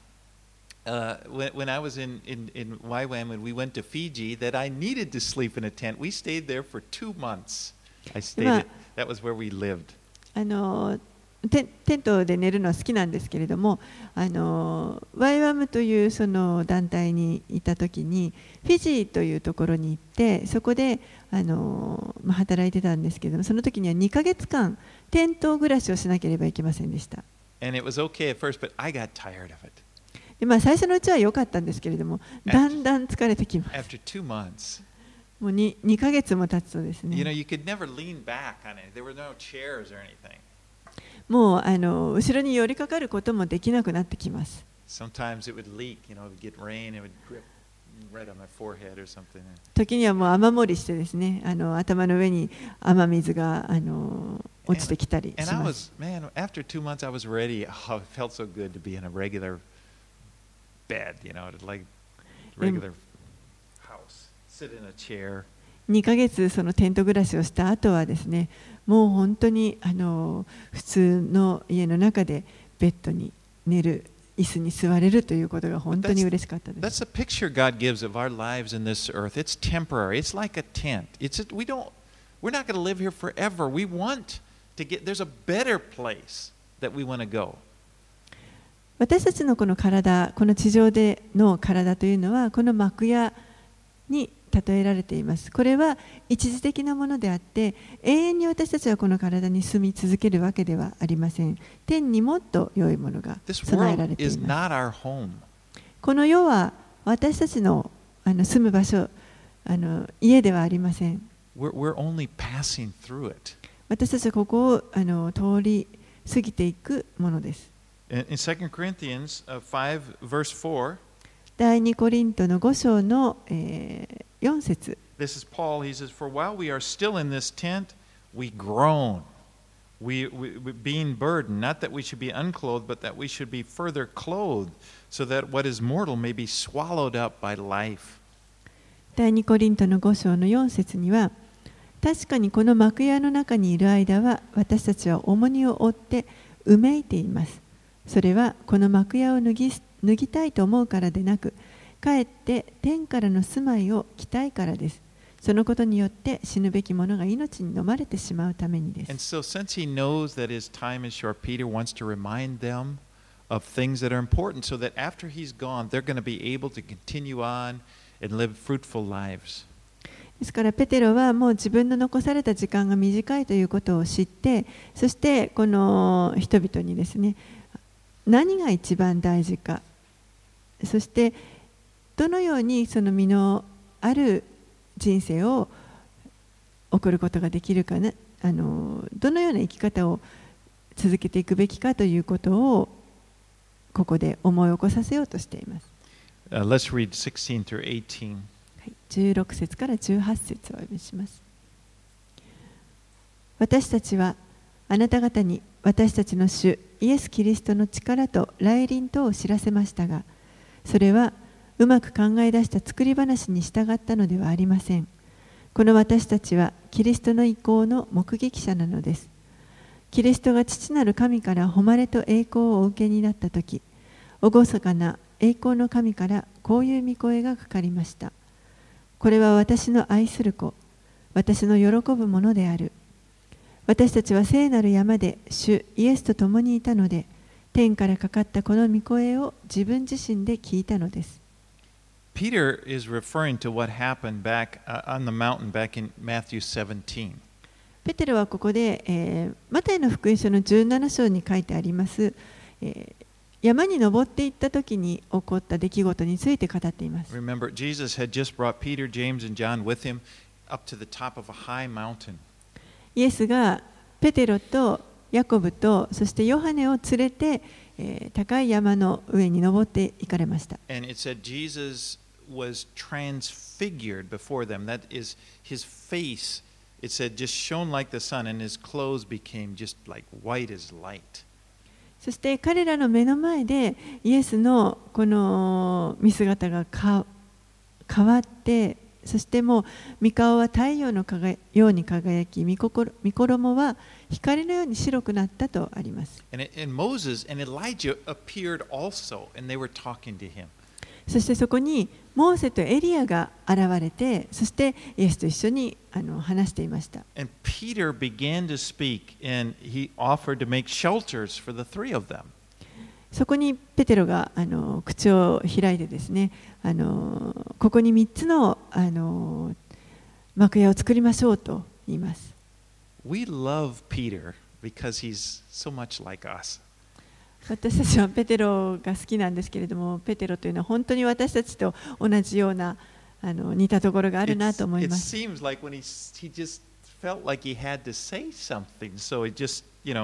when I was in YWAM and we went to Fiji that I needed to sleep in a tent. We stayed there for 2 months. I stayed. That was where we lived. テントで寝るのは好きなんですけれども、YWAM というその団体にいたときにフィジーというところに行ってそこで働いてたんですけれども、その時には2ヶ月間テント暮らしをしなければいけませんでした。 And it was okay at first, but I got tired of it. で最初のうちは良かったんですけれども、だんだん疲れてきます。 After 2 months. もう2ヶ月も経つとですね。 You know, you could never lean back on it. There were no chairs or anything. もう後ろに寄りかかることもできなくなってきます。 Sometimes it would leak, you know, it would get rain, it would drip right on my forehead or something. 時にはもう雨漏りしてですね、頭の上に雨水が落ちてきたりします。 Man, after 2 months, I was ready. Oh, it felt so good to be in a regular bed, you know, like regular house, sit in a chair. 2ヶ月そのテント暮らしをした後はですね、もう本当に普通の家の中でベッドに寝る椅子に座れるということが本当に嬉しかったです。 That's the picture God gives of our lives in this earth. It's temporary. It's like a tent. We're not going to live here forever. We want to there's a better place that we want to go. 私たちのこの体、この地上での体というのはこの幕屋に例えられています。これは一時的なものであって、永遠に私たちはこの体に住み続けるわけではありません。天にもっと良いものが備えられています。この世は私たちの住む場所、家ではありません。 We're only passing through it. 私たちはここを通り過ぎていくものです。 In 2 Corinthians 5 verse 4, 第2コリントの5章の4節。 This is Paul. He says, "For while we are still in this tent, we groan, we being burdened, not that we should be unclothed, but that we should be further clothed, so that what is mortal may be swallowed up by life." 第2コリントの5章の4節には、確かにこの幕屋の中にいる間は、私たちは重荷を負ってうめいています。それはこの幕屋を脱ぎたいと思うからでなく、かえって天からの住まいを着たいからです。そのことによって死ぬべき者が命に飲まれてしまうためにです。 And so, since he knows that his time is short, Peter wants to remind them of things that are important, so that after he's gone, they're going to be able to continue on and live fruitful lives. ですからペテロはもう自分の残された時間が短いということを知って、そしてこの人々にですね、何が一番大事か、そしてどのようにその身のある人生を送ることができるかね、どのような生き方を続けていくべきかということをここで思い起こさせようとしています。 Let's read 16 through 18. 16節から18節をお読みします。私たちはあなた方に私たちの主イエス・キリストの力と来臨とを知らせましたが、それはうまく考え出した作り話に従ったのではありません。この私たちはキリストの意向の目撃者なのです。キリストが父なる神から誉れと栄光をお受けになったとき、厳かな栄光の神からこういう御声がかかりました。これは私の愛する子、私の喜ぶものである。私たちは聖なる山で主イエスと共にいたので、天からかかったこの御声を自分自身で聞いたのです。 Peter is referring to what happened back on the mountain back in Matthew 17. ペテロはここで、マタイの福音書の17章に書いてあります、山に登っていった時に起こった出来事について語っています。 Remember, Jesus had just brought Peter, James, and John with him up to the top of a high mountain. イエスがペテロとヤコブとそしてヨハネを連れて、高い山の上に登って行かれました。 And it said Jesus was transfigured before them. That is, his face, it said, just shone like the sun, and his clothes became just like white as light. そして彼らの目の前でイエスのこの見姿が変わって、そしてもう御顔は太陽のように輝き、御衣は光のように白くなったとあります。 And Moses and Elijah appeared also, and they were talking to him. そしてそこにモーセとエリアが現れて、そしてイエスと一緒に話していました。 And Peter began to speak, and he offered to make shelters for the three of them. そこにペテロが口を開いてですね、ここに3つの幕屋を作りましょうと言います。 We love Peter because he's so much like us. 私たちはペテロが好きなんですけれども、ペテロというのは本当に私たちと同じような似たところがあるなと思います。 It seems like when he just felt like he had to say something, so he just,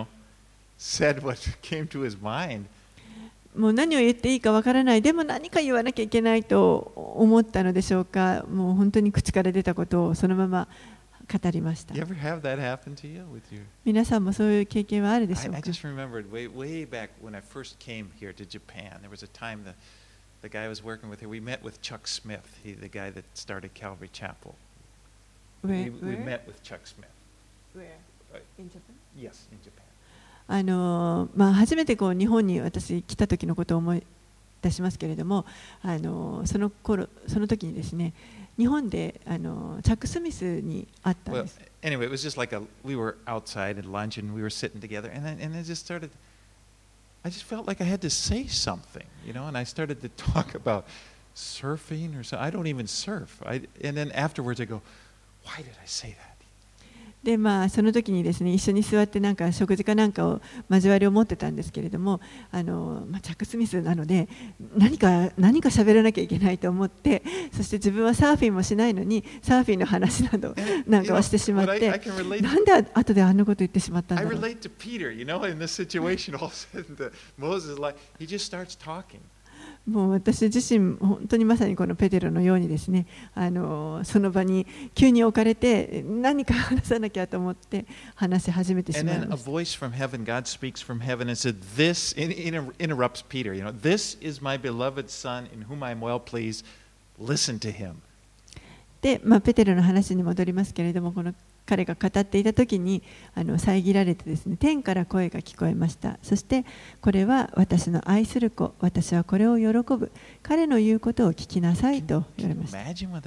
said what came to his mind. もう何を言っていいかわからない、でも何か言わなきゃいけないと思ったのでしょうか。もう本当に口から出たことをそのまま語りました。 You ever have that happen to you with your... 皆さんもそういう経験はあるでしょうか。 I just remembered way back when I first came here to Japan, there was a time the guy I was working with here, we met with Chuck Smith, the guy that started Calvary Chapel. We met with Chuck Smith. Where? In Japan? Yes, in Japan. 初めてこう日本に私来た時のことを思い出しますけれども、その時にですね、日本でチャック・スミスに会ったんです。 Anyway, it was just like we were outside at lunch and we were sitting together, and I just felt like I had to say something, and I started to talk about surfing or so. I don't even surf. And then afterwards I go, why did I say that? でその時にですね、一緒に座ってなんか食事かなんかを交わりを持ってたんですけれども、チャック・スミスなので何か喋らなきゃいけないと思って、そして自分はサーフィンもしないのにサーフィンの話などなんかをしてしまって、なんで後であんなこと言ってしまったんだろう。 I relate to Peter, in this situation, all of a sudden Moses he just starts talking. もう私自身本当にまさにこのペテロのようにですね、その場に急に置かれて何か話さなきゃと思って話し始めてしまいました。 And then a voice from heaven, God speaks from heaven and said, "This interrupts Peter. This is my beloved son in whom I am well pleased. Listen to him." で、ペテロの話に戻りますけれども、この彼が語っていた時に遮られてですね、天から声が聞こえました。そしてこれは私の愛する子、私はこれを喜ぶ、彼の言うことを聞きなさいと言われました。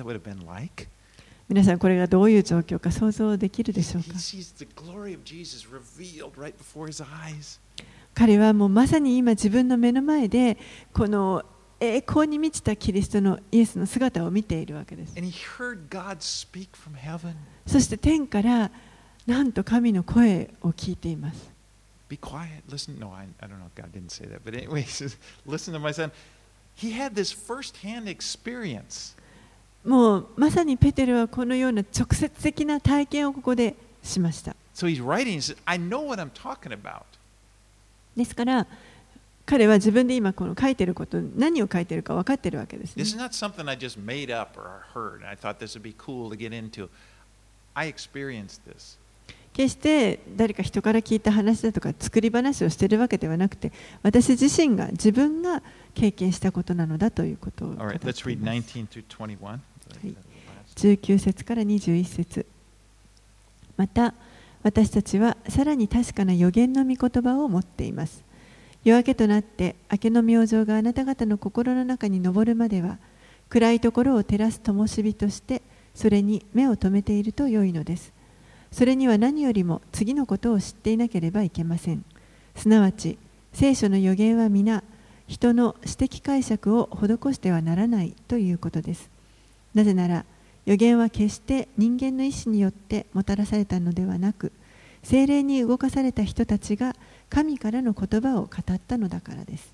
皆さん、これがどういう状況か想像できるでしょうか。彼はもうまさに今自分の目の前でこの栄光に満ちたキリストのイエスの姿を見ているわけです。そして天からなんと神の声を聞いています。 Be quiet. Listen. No, I don't know if God didn't say that. But anyway, he says, listen to my son. He had this first-hand experience. もうまさにペテロはこのような直接的な体験をここでしました。 So he's writing. He says, I know what I'm talking about. ですから彼は自分で今この書いていること、何を書いているか分かっているわけですね。 This is not something I just made up or heard. I thought this would be cool to get into. I experienced this. 決して誰か人から聞いた話だとか作り話をしているわけではなくて、私自身が自分が経験したことなのだということを語っています。 Let's read 19 through 21. 19節から21節。また私たちはさらに確かな預言の御言葉を持っています。夜明けとなって明けの明星があなた方の心の中に昇るまでは、暗いところを照らす灯火としてそれに目を留めていると良いのです。それには何よりも次のことを知っていなければいけません。すなわち聖書の預言は皆人の私的解釈を施してはならないということです。なぜなら預言は決して人間の意志によってもたらされたのではなく、聖霊に動かされた人たちが神からの言葉を語ったのだからです。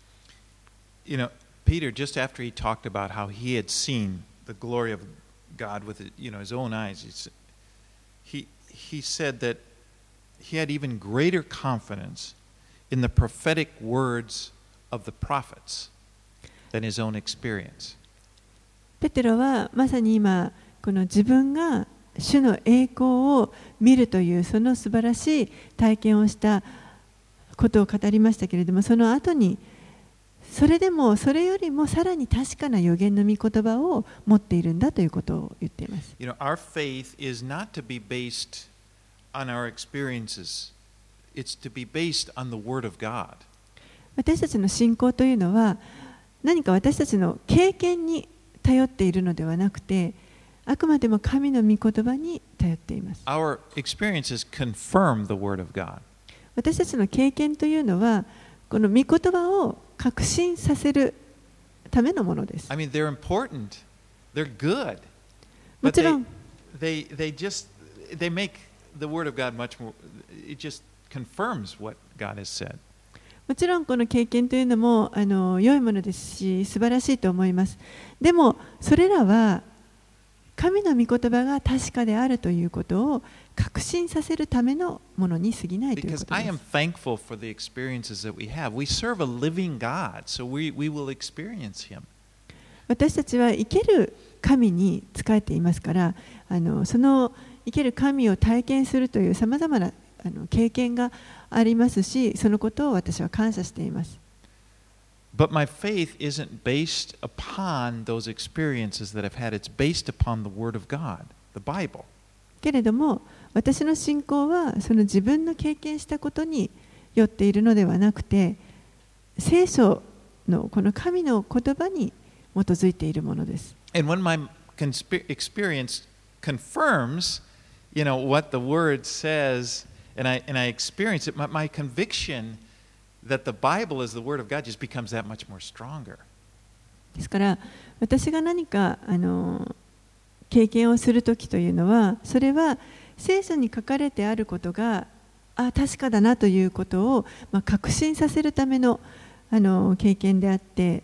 Peter, just after he talked about how he had seen the glory of God with his own eyes, he said that he had even greater confidence in the prophetic words of the prophets than his own experience. ペテロはまさに今この自分が主の栄光を見るというその素晴らしい体験をしたことを語りましたけれども、その後にそれでもそれよりもさらに確かな預言の御言葉を持っているんだということを言っています。 Our faith is not to be based on our experiences. It's to be based on the Word of God. 私たちの信仰というのは何か私たちの経験に頼っているのではなくて、あくまでも神の御言葉に頼っています。 Our experiences confirm the Word of God. 私たちの経験というのはこの御言葉を確信させるためのものです。 I mean, they're important. They're good. もちろん、 they make the Word of God much more. It just confirms what God has said. もちろんこの経験というのも良いものですし素晴らしいと思います。でもそれらは神の御言葉が確かであるということを確信させるためのものに過ぎないということです。 Because I am thankful for the experiences that we have. We serve a living God, so we will experience Him. 私たちは生ける神に仕えていますから、その生ける神を体験するというさまざまな経験がありますし、そのことを私は感謝しています。 But my faith isn't based upon those experiences that I've had. It's based upon the Word of God, the Bible. けれども、私の信仰はその自分の経験したことによっているのではなくて、聖書のこの神の言葉に基づいているものです。 And when my experience confirms, what the Word says, and I experience it, my conviction that the Bible is the Word of God just becomes that much more stronger. ですから私が何か経験をするときというのは、それは聖書に書かれてあることが確かだなということを、確信させるための経験であって、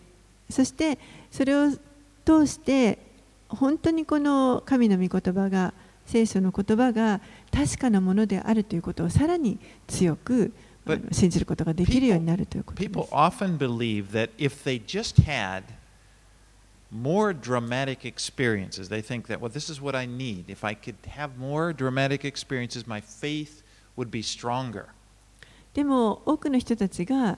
そしてそれを通して本当にこの神の御言葉が、聖書の言葉が確かなものであるということをさらに強く信じることができるようになるということです。 People often believe that if they just had more dramatic experiences, they think that, well, this is what I need. If I could have more dramatic experiences, my faith would be stronger. でも多くの人たちが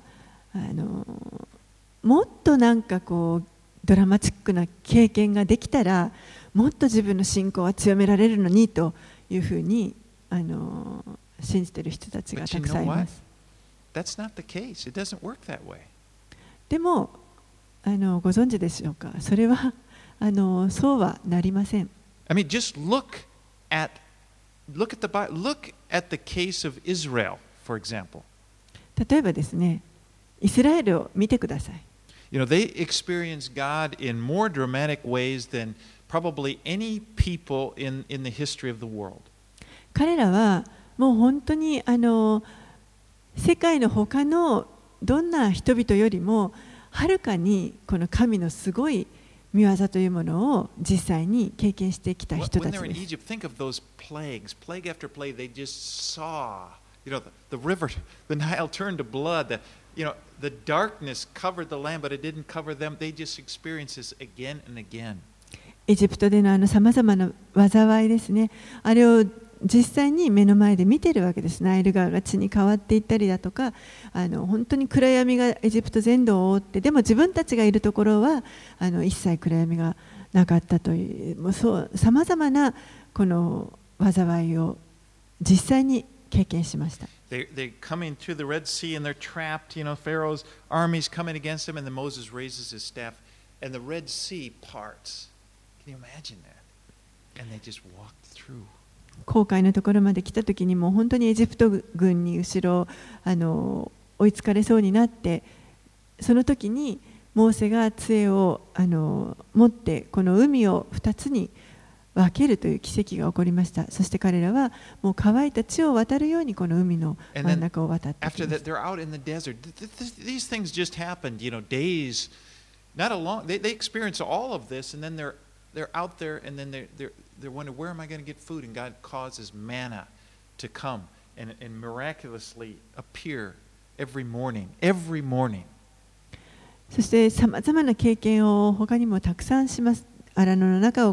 もっとなんかこうドラマチックな経験ができたらもっと自分の信仰は強められるのにというふうに信じている人たちがたくさんいます。 That's not the case. It doesn't work that way. でもご存知でしょうか。それはそうはなりません。 I mean, just look at the Bible. Look at the case of Israel, for example. 例えばですね、イスラエルを見てください。 They experience God in more dramatic ways than probably any people in the history of the world. 彼らはもう本当に世界の他のどんな人々よりもはるかにこの神のすごい御業というものを実際に経験してきた人たちです。 When they're in Egypt, think of those plagues, plague after plague. They just saw, the river, the Nile turned to blood. The darkness covered the land, but it didn't cover them. They just experienced this again and again. エジプトでのさまざまな災いですね。あれを実際に目の前で見ているわけです。ナイル川が血に変わっていったりだとか、本当に暗闇がエジプト全土を覆って、でも自分たちがいるところは一切暗闇がなかったという、さまざまなこの災いを実際に経験しました。 They're coming through the Red Sea and they're trapped. Pharaoh's armies coming against them, and then Moses raises his staff, and the Red Sea parts. Can you imagine that? And they just walked through. 紅海のところまで来たときにもう本当にエジプト軍に後ろ追いつかれそうになって、その時にモーセが杖を持ってこの海を2つに分けるという奇跡が起こりました。そして彼らはもう乾いた地を渡るようにこの海の真ん中を渡ってきました。 After that, they're out in the desert. These things just happened, days, not a long. They experience all of this, and then they're out there, and then they're wondering, where am I going to get food? And God causes manna to come and miraculously appear every morning. そしてさまざまな経験を他にもたくさんします。荒野の中を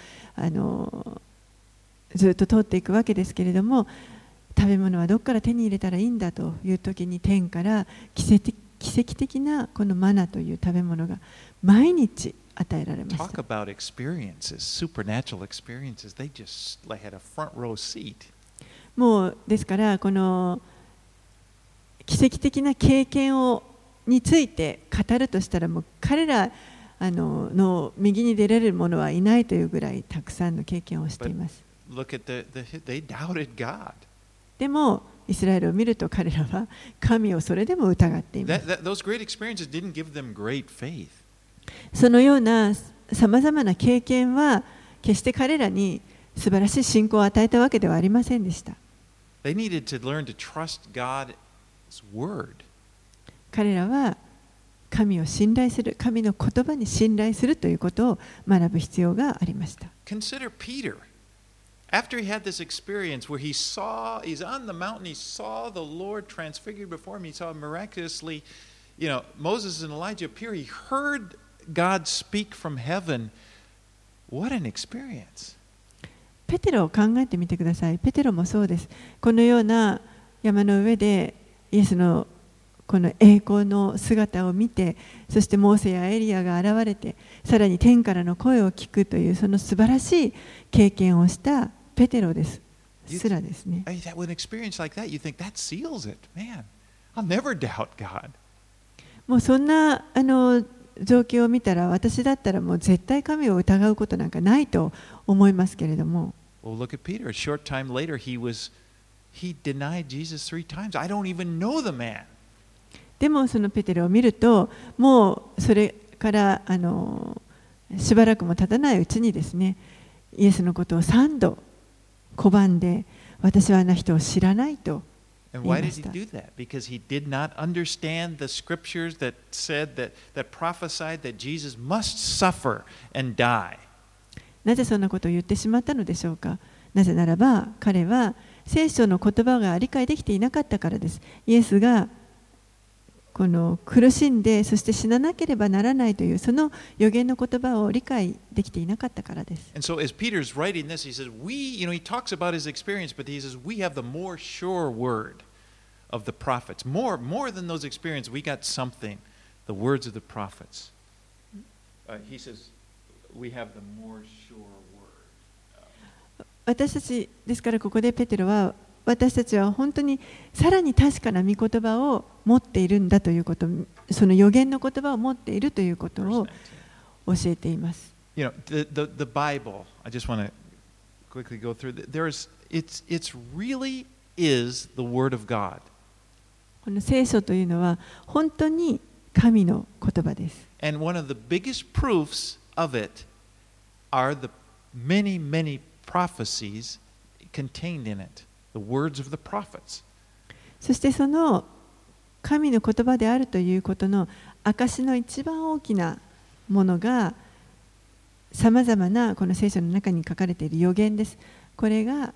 ずっと通っていくわけですけれども、食べ物はどこから手に入れたらいいんだという時に天から奇跡的なこのマナという食べ物が毎日与えられました。 Talk about experiences, supernatural experiences. They just had a front row seat. もうですからこの奇跡的な経験について語るとしたらもう彼らの右に出られる者はいないというぐらいたくさんの経験をしています。 They doubted God. でもイスラエルを見ると彼らは神をそれでも疑っています。 Those great experiences didn't give them great faith. そのようなさまざまな経験は決して彼らに素晴らしい信仰を与えたわけではありませんでした。 They needed to learn to trust God's word. 彼らは神を信頼する、神の言葉に信頼するということを学ぶ必要がありました。 Consider Peter. After he had this experience where he's on the mountain, he saw the Lord transfigured before him, he saw miraculously, Moses and Elijah appear, he heard God speak from heaven. What an experience. ペテロを考えてみてください。ペテロもそうです。このような山の上でイエスのこの栄光の姿を見て、そしてモーセやエリアが現れて、さらに天からの声を聞くというその素晴らしい経験をしたペテロです。すらですね。 With an experience like that, you think that seals it. Man, I'll never doubt God. もうそんな状況を見たら、私だったらもう絶対神を疑うことなんかないと思いますけれども。 Well, look at Peter. A short time later, he denied Jesus 3 times. I don't even know the man. でもそのペテロを見ると、もうそれからしばらくも経たないうちにですね、イエスのことを3度拒んで、私はあの人を知らないと言いました。 And why did he do that? Because he did not understand the scriptures that said that prophesied that Jesus must suffer and die. なぜそんなことを言ってしまったのでしょうか。なぜならば彼は聖書の言葉が理解できていなかったからです。イエスがこの苦しんで、そして死ななければならないというその預言の言葉を理解できていなかったからです。 And so as Peter's writing this, he says, he talks about his experience, but he says, we have the more sure word of the prophets. More than those experiences, we got something, the words of the prophets. He says, we have the more sure word. 私たちですから、ここでペテロは、私たちは本当にさらに確かな御言葉を持っているんだということ、その預言の言葉を持っているということを教えています。 You know, the Bible, I just want to quickly go through. It's really is the Word of God. この聖書というのは本当に神の言葉です。 And one of the biggest proofs of it are the many, many prophecies contained in it. The words of the prophets. そしてその神の言葉であるということの証の一番大きなものが、さまざまなこの聖書の中に書かれている預言です。これが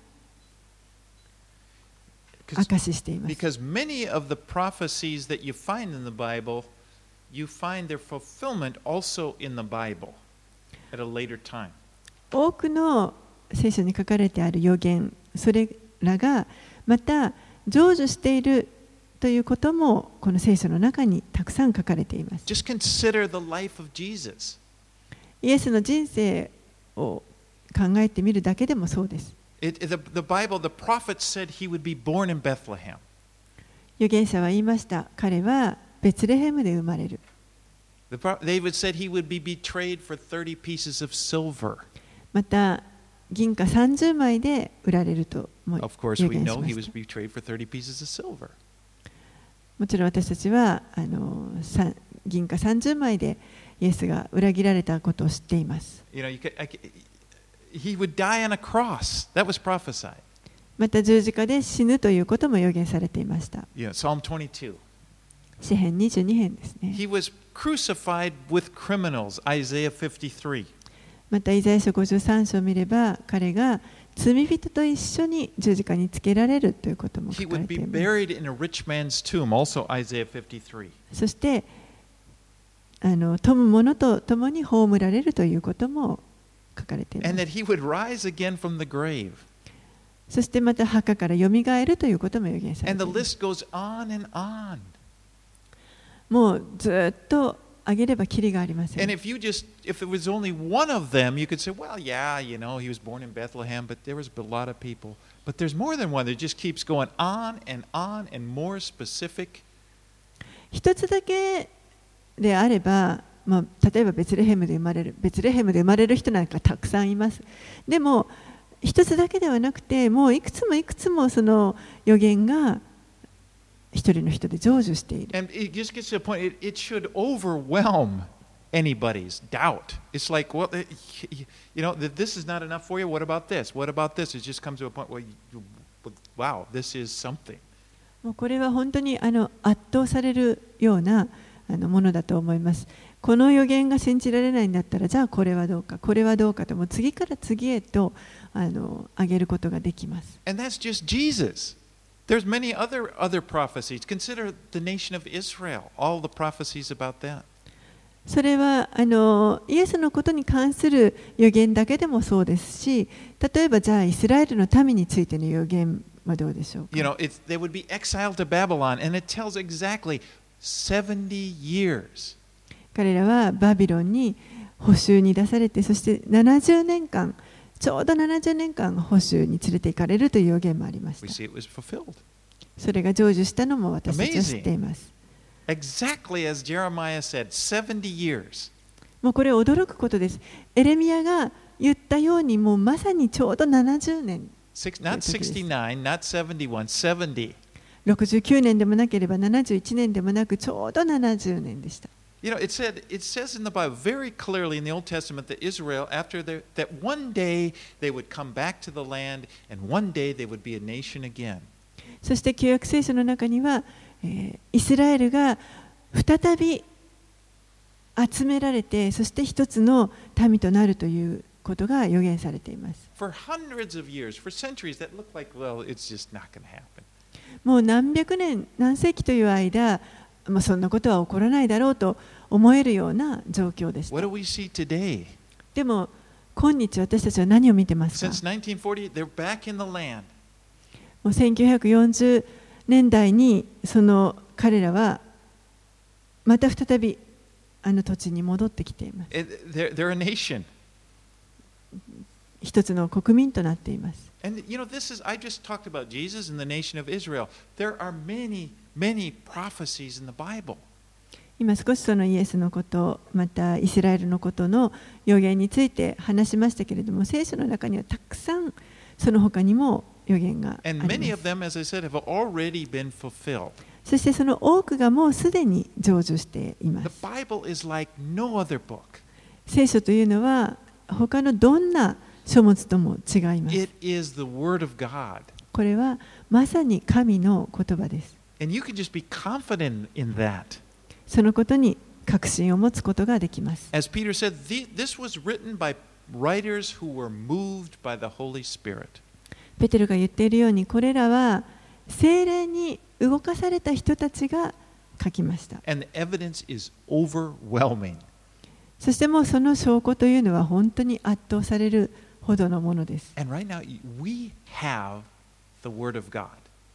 証ししています。 Because many of the prophecies that you find in the Bible, you find their fulfillment also in the Bible at a later time. 多くの聖書に書かれてある預言、それらがまた成就しているということもこの聖書の中にたくさん書かれています。 Just consider the life of Jesus. イエスの人生を考えてみるだけでもそうです。 The Bible, the prophets said he would be born in Bethlehem. 預言者は言いました。彼はベツレヘムで生まれる。 David said he would be betrayed for 30 pieces of silver. また銀貨30枚で売られるとも預 Of course, we 言し know ま he was した。 betrayed for 30 pieces of silver. もちろん私たちは銀貨30枚でイエスが裏切られたことを知っています。 You know, he would die on a cross. That was prophesied. また十字架で死ぬということも予言されていました。 Yeah, Psalm 22. 詩編22編ですね。 He was crucified with criminals. Isaiah 53. またイザヤ書53章を見れば、彼が罪人と一緒に十字架につけられるということも He 書かれ would て be います。 buried in a rich man's tomb. Also Isaiah 53. そして富む者と共に葬られるということも書かれています。 And that he would rise again from the grave. そしてまた墓からよみがえるということも予言され And てい the ます。 list goes on and on. もうずっと挙げればきりがありませ And ん。 if it was only one of them, you could say, well, yeah, you know, he was born in Bethlehem, but there was a lot of people. But there's more than one. It just keeps going on and more specific. 一つだけであれば、例えばベツレヘムで生まれる人なんかたくさんいます。でも一つだけではなくて、もういくつもその預言が一人の人で成就している。 And it just gets to a point, it should overwhelm anybody's doubt. It's like, well, you know, this is not enough for you. What about this? What about this? It just comes to a point where, wow, this is something. もうこれは本当に圧倒されるようなものだと思います。この預言が信じられないんだったら、じゃあこれはどうかと、もう次から次へと挙げることができます。 And that's just Jesus. There's many other prophecies. Consider the nation of Israel, all the prophecies about that. それはイエスのことに関する預言だけでもそうですし、例えばじゃあイスラエルの民についての預言はどうでしょうか。 You know, they would be exiled to Babylon, and it tells exactly 70 years. 彼らはバビロンに捕囚に出されて、そして70年間、ちょうど70年間捕囚に連れて行かれるという預言もありまし We た。 see it was fulfilled. それが成就したのも私たちは知っています。 Exactly as Jeremiah said, 70 years. もうこれ驚くことです。エレミヤが言ったように、もうまさにちょうど70年。 Not 69, not 71, 70. 69年でもなければ71年でもなく、ちょうど70年でした。 You know, it says in the Bible very clearly in the Old Testament that Israel, that one day they would come back to the land, and one day they would be a nation again. そして旧約聖書の中には、イスラエルが再び集められて、そして一つの民となるということが予言されています。 For hundreds of years, for centuries, that looked like, well, it's just not going to happen. もう何百年、何世紀という間、そんなことは起こらないだろうと思えるような状況でした。 What do we see today? でも今日私たちは何を見てますか？ Since 1940, they're back in the land. もう1940年代にその彼らはまた再びあの土地に戻ってきています。 They're a nation. 一つの国民となっています。 And you know, I just talked about Jesus and the nation of Israel. There are many prophecies in the Bible. 今少しそのイエスのこと、またイスラエルのことの予言について話しましたけれども、聖書の中にはたくさんその他にも予言があります。 And many of them, as I said, have already been fulfilled. そしてその多くがもうすでに成就しています。 The Bible is like no other book. 聖書というのは他のどんな書物とも違います。 It is the word of God. これはまさに神の言葉です。 And you can just be confident in that. そのことに確信を持つことができます。 As Peter said, this was written by writers who were moved by the Holy Spirit. ペテロが言っているように、これらは聖霊に動かされた人たちが書きました。 And the evidence is overwhelming. そしてもうその証拠というのは本当に圧倒されるほどのものです。 And right now, we have the Word of God.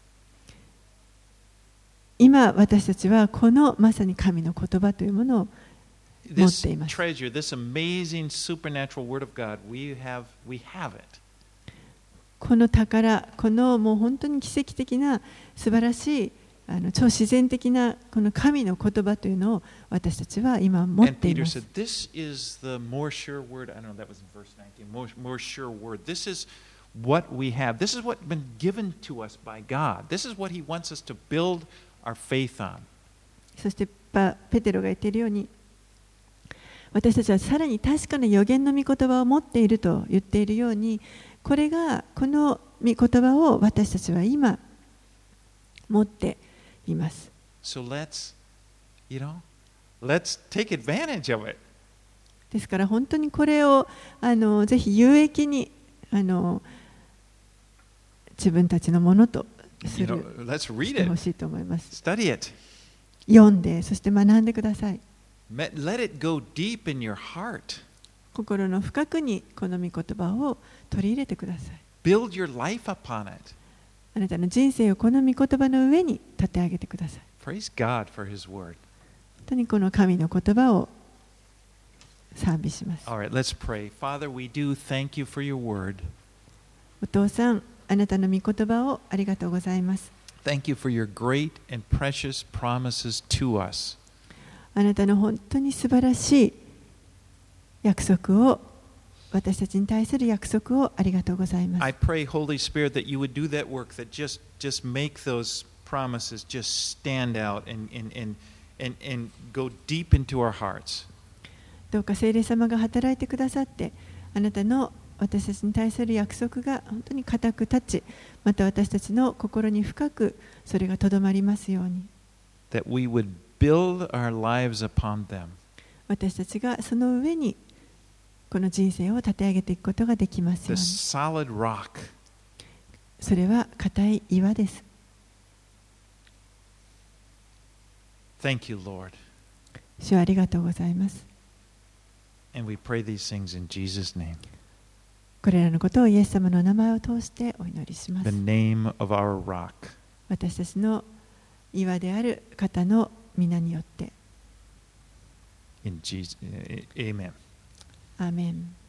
今私たちはこのまさに神の言葉というものを持っています。 This treasure, this amazing supernatural Word of God, we have it. この宝、このもう本当に奇跡的な素晴らしい超自然的なこの神の言葉というのを私たちは今持っています。 And Peter said, "This is the more sure word." I don't know, that was in verse 19. More sure word. This is what we have. This is what's been given to us by God. This is what He wants us to build our faith on. そしてペテロが言っているように、私たちはさらに確かな預言の御言葉を持っていると言っているように、この御言葉を私たちは今持っています。 So let's take advantage of it. ですから本当にこれをぜひ有益に自分たちのものとするしてほしいと思います。 Study it. 読んで、そして学んでください。 Let it go deep in your heart. 心の深くにこの御言葉を取り入れてください。 Build your life upon it. あなたの人生をこの御言葉の上に立て上げてください。 Praise God for His word. 本当にこの神の言葉を賛美します。 All right, let's pray. Father, we do thank you for your word. お父さん、あなたの御言葉をありがとうございます。 Thank you for your great and precious promises to us. あなたの本当に素晴らしい約束を、私たちに対する約束をありがとうございます。 I pray, Holy Spirit, that you would do that work, that just make those promises just stand out and go deep into our hearts. どうか聖霊様が働いてくださって、あなたの私たちに対する約束が本当に固く立ち、また私たちの心に深くそれがとどまりますように。 That we would build our lives upon them. 私たちがその上にこの人生を立て上げていくことができますよう The に。 solid rock. それは固い岩です。 Thank you, Lord. 主はありがとうございます。 And we pray these things in Jesus' name. これらのことをイエス様の名前を通してお祈りしま The す。 name of our rock. 私たちの岩である方の皆によって。 In Jesus, Amen. アーメン。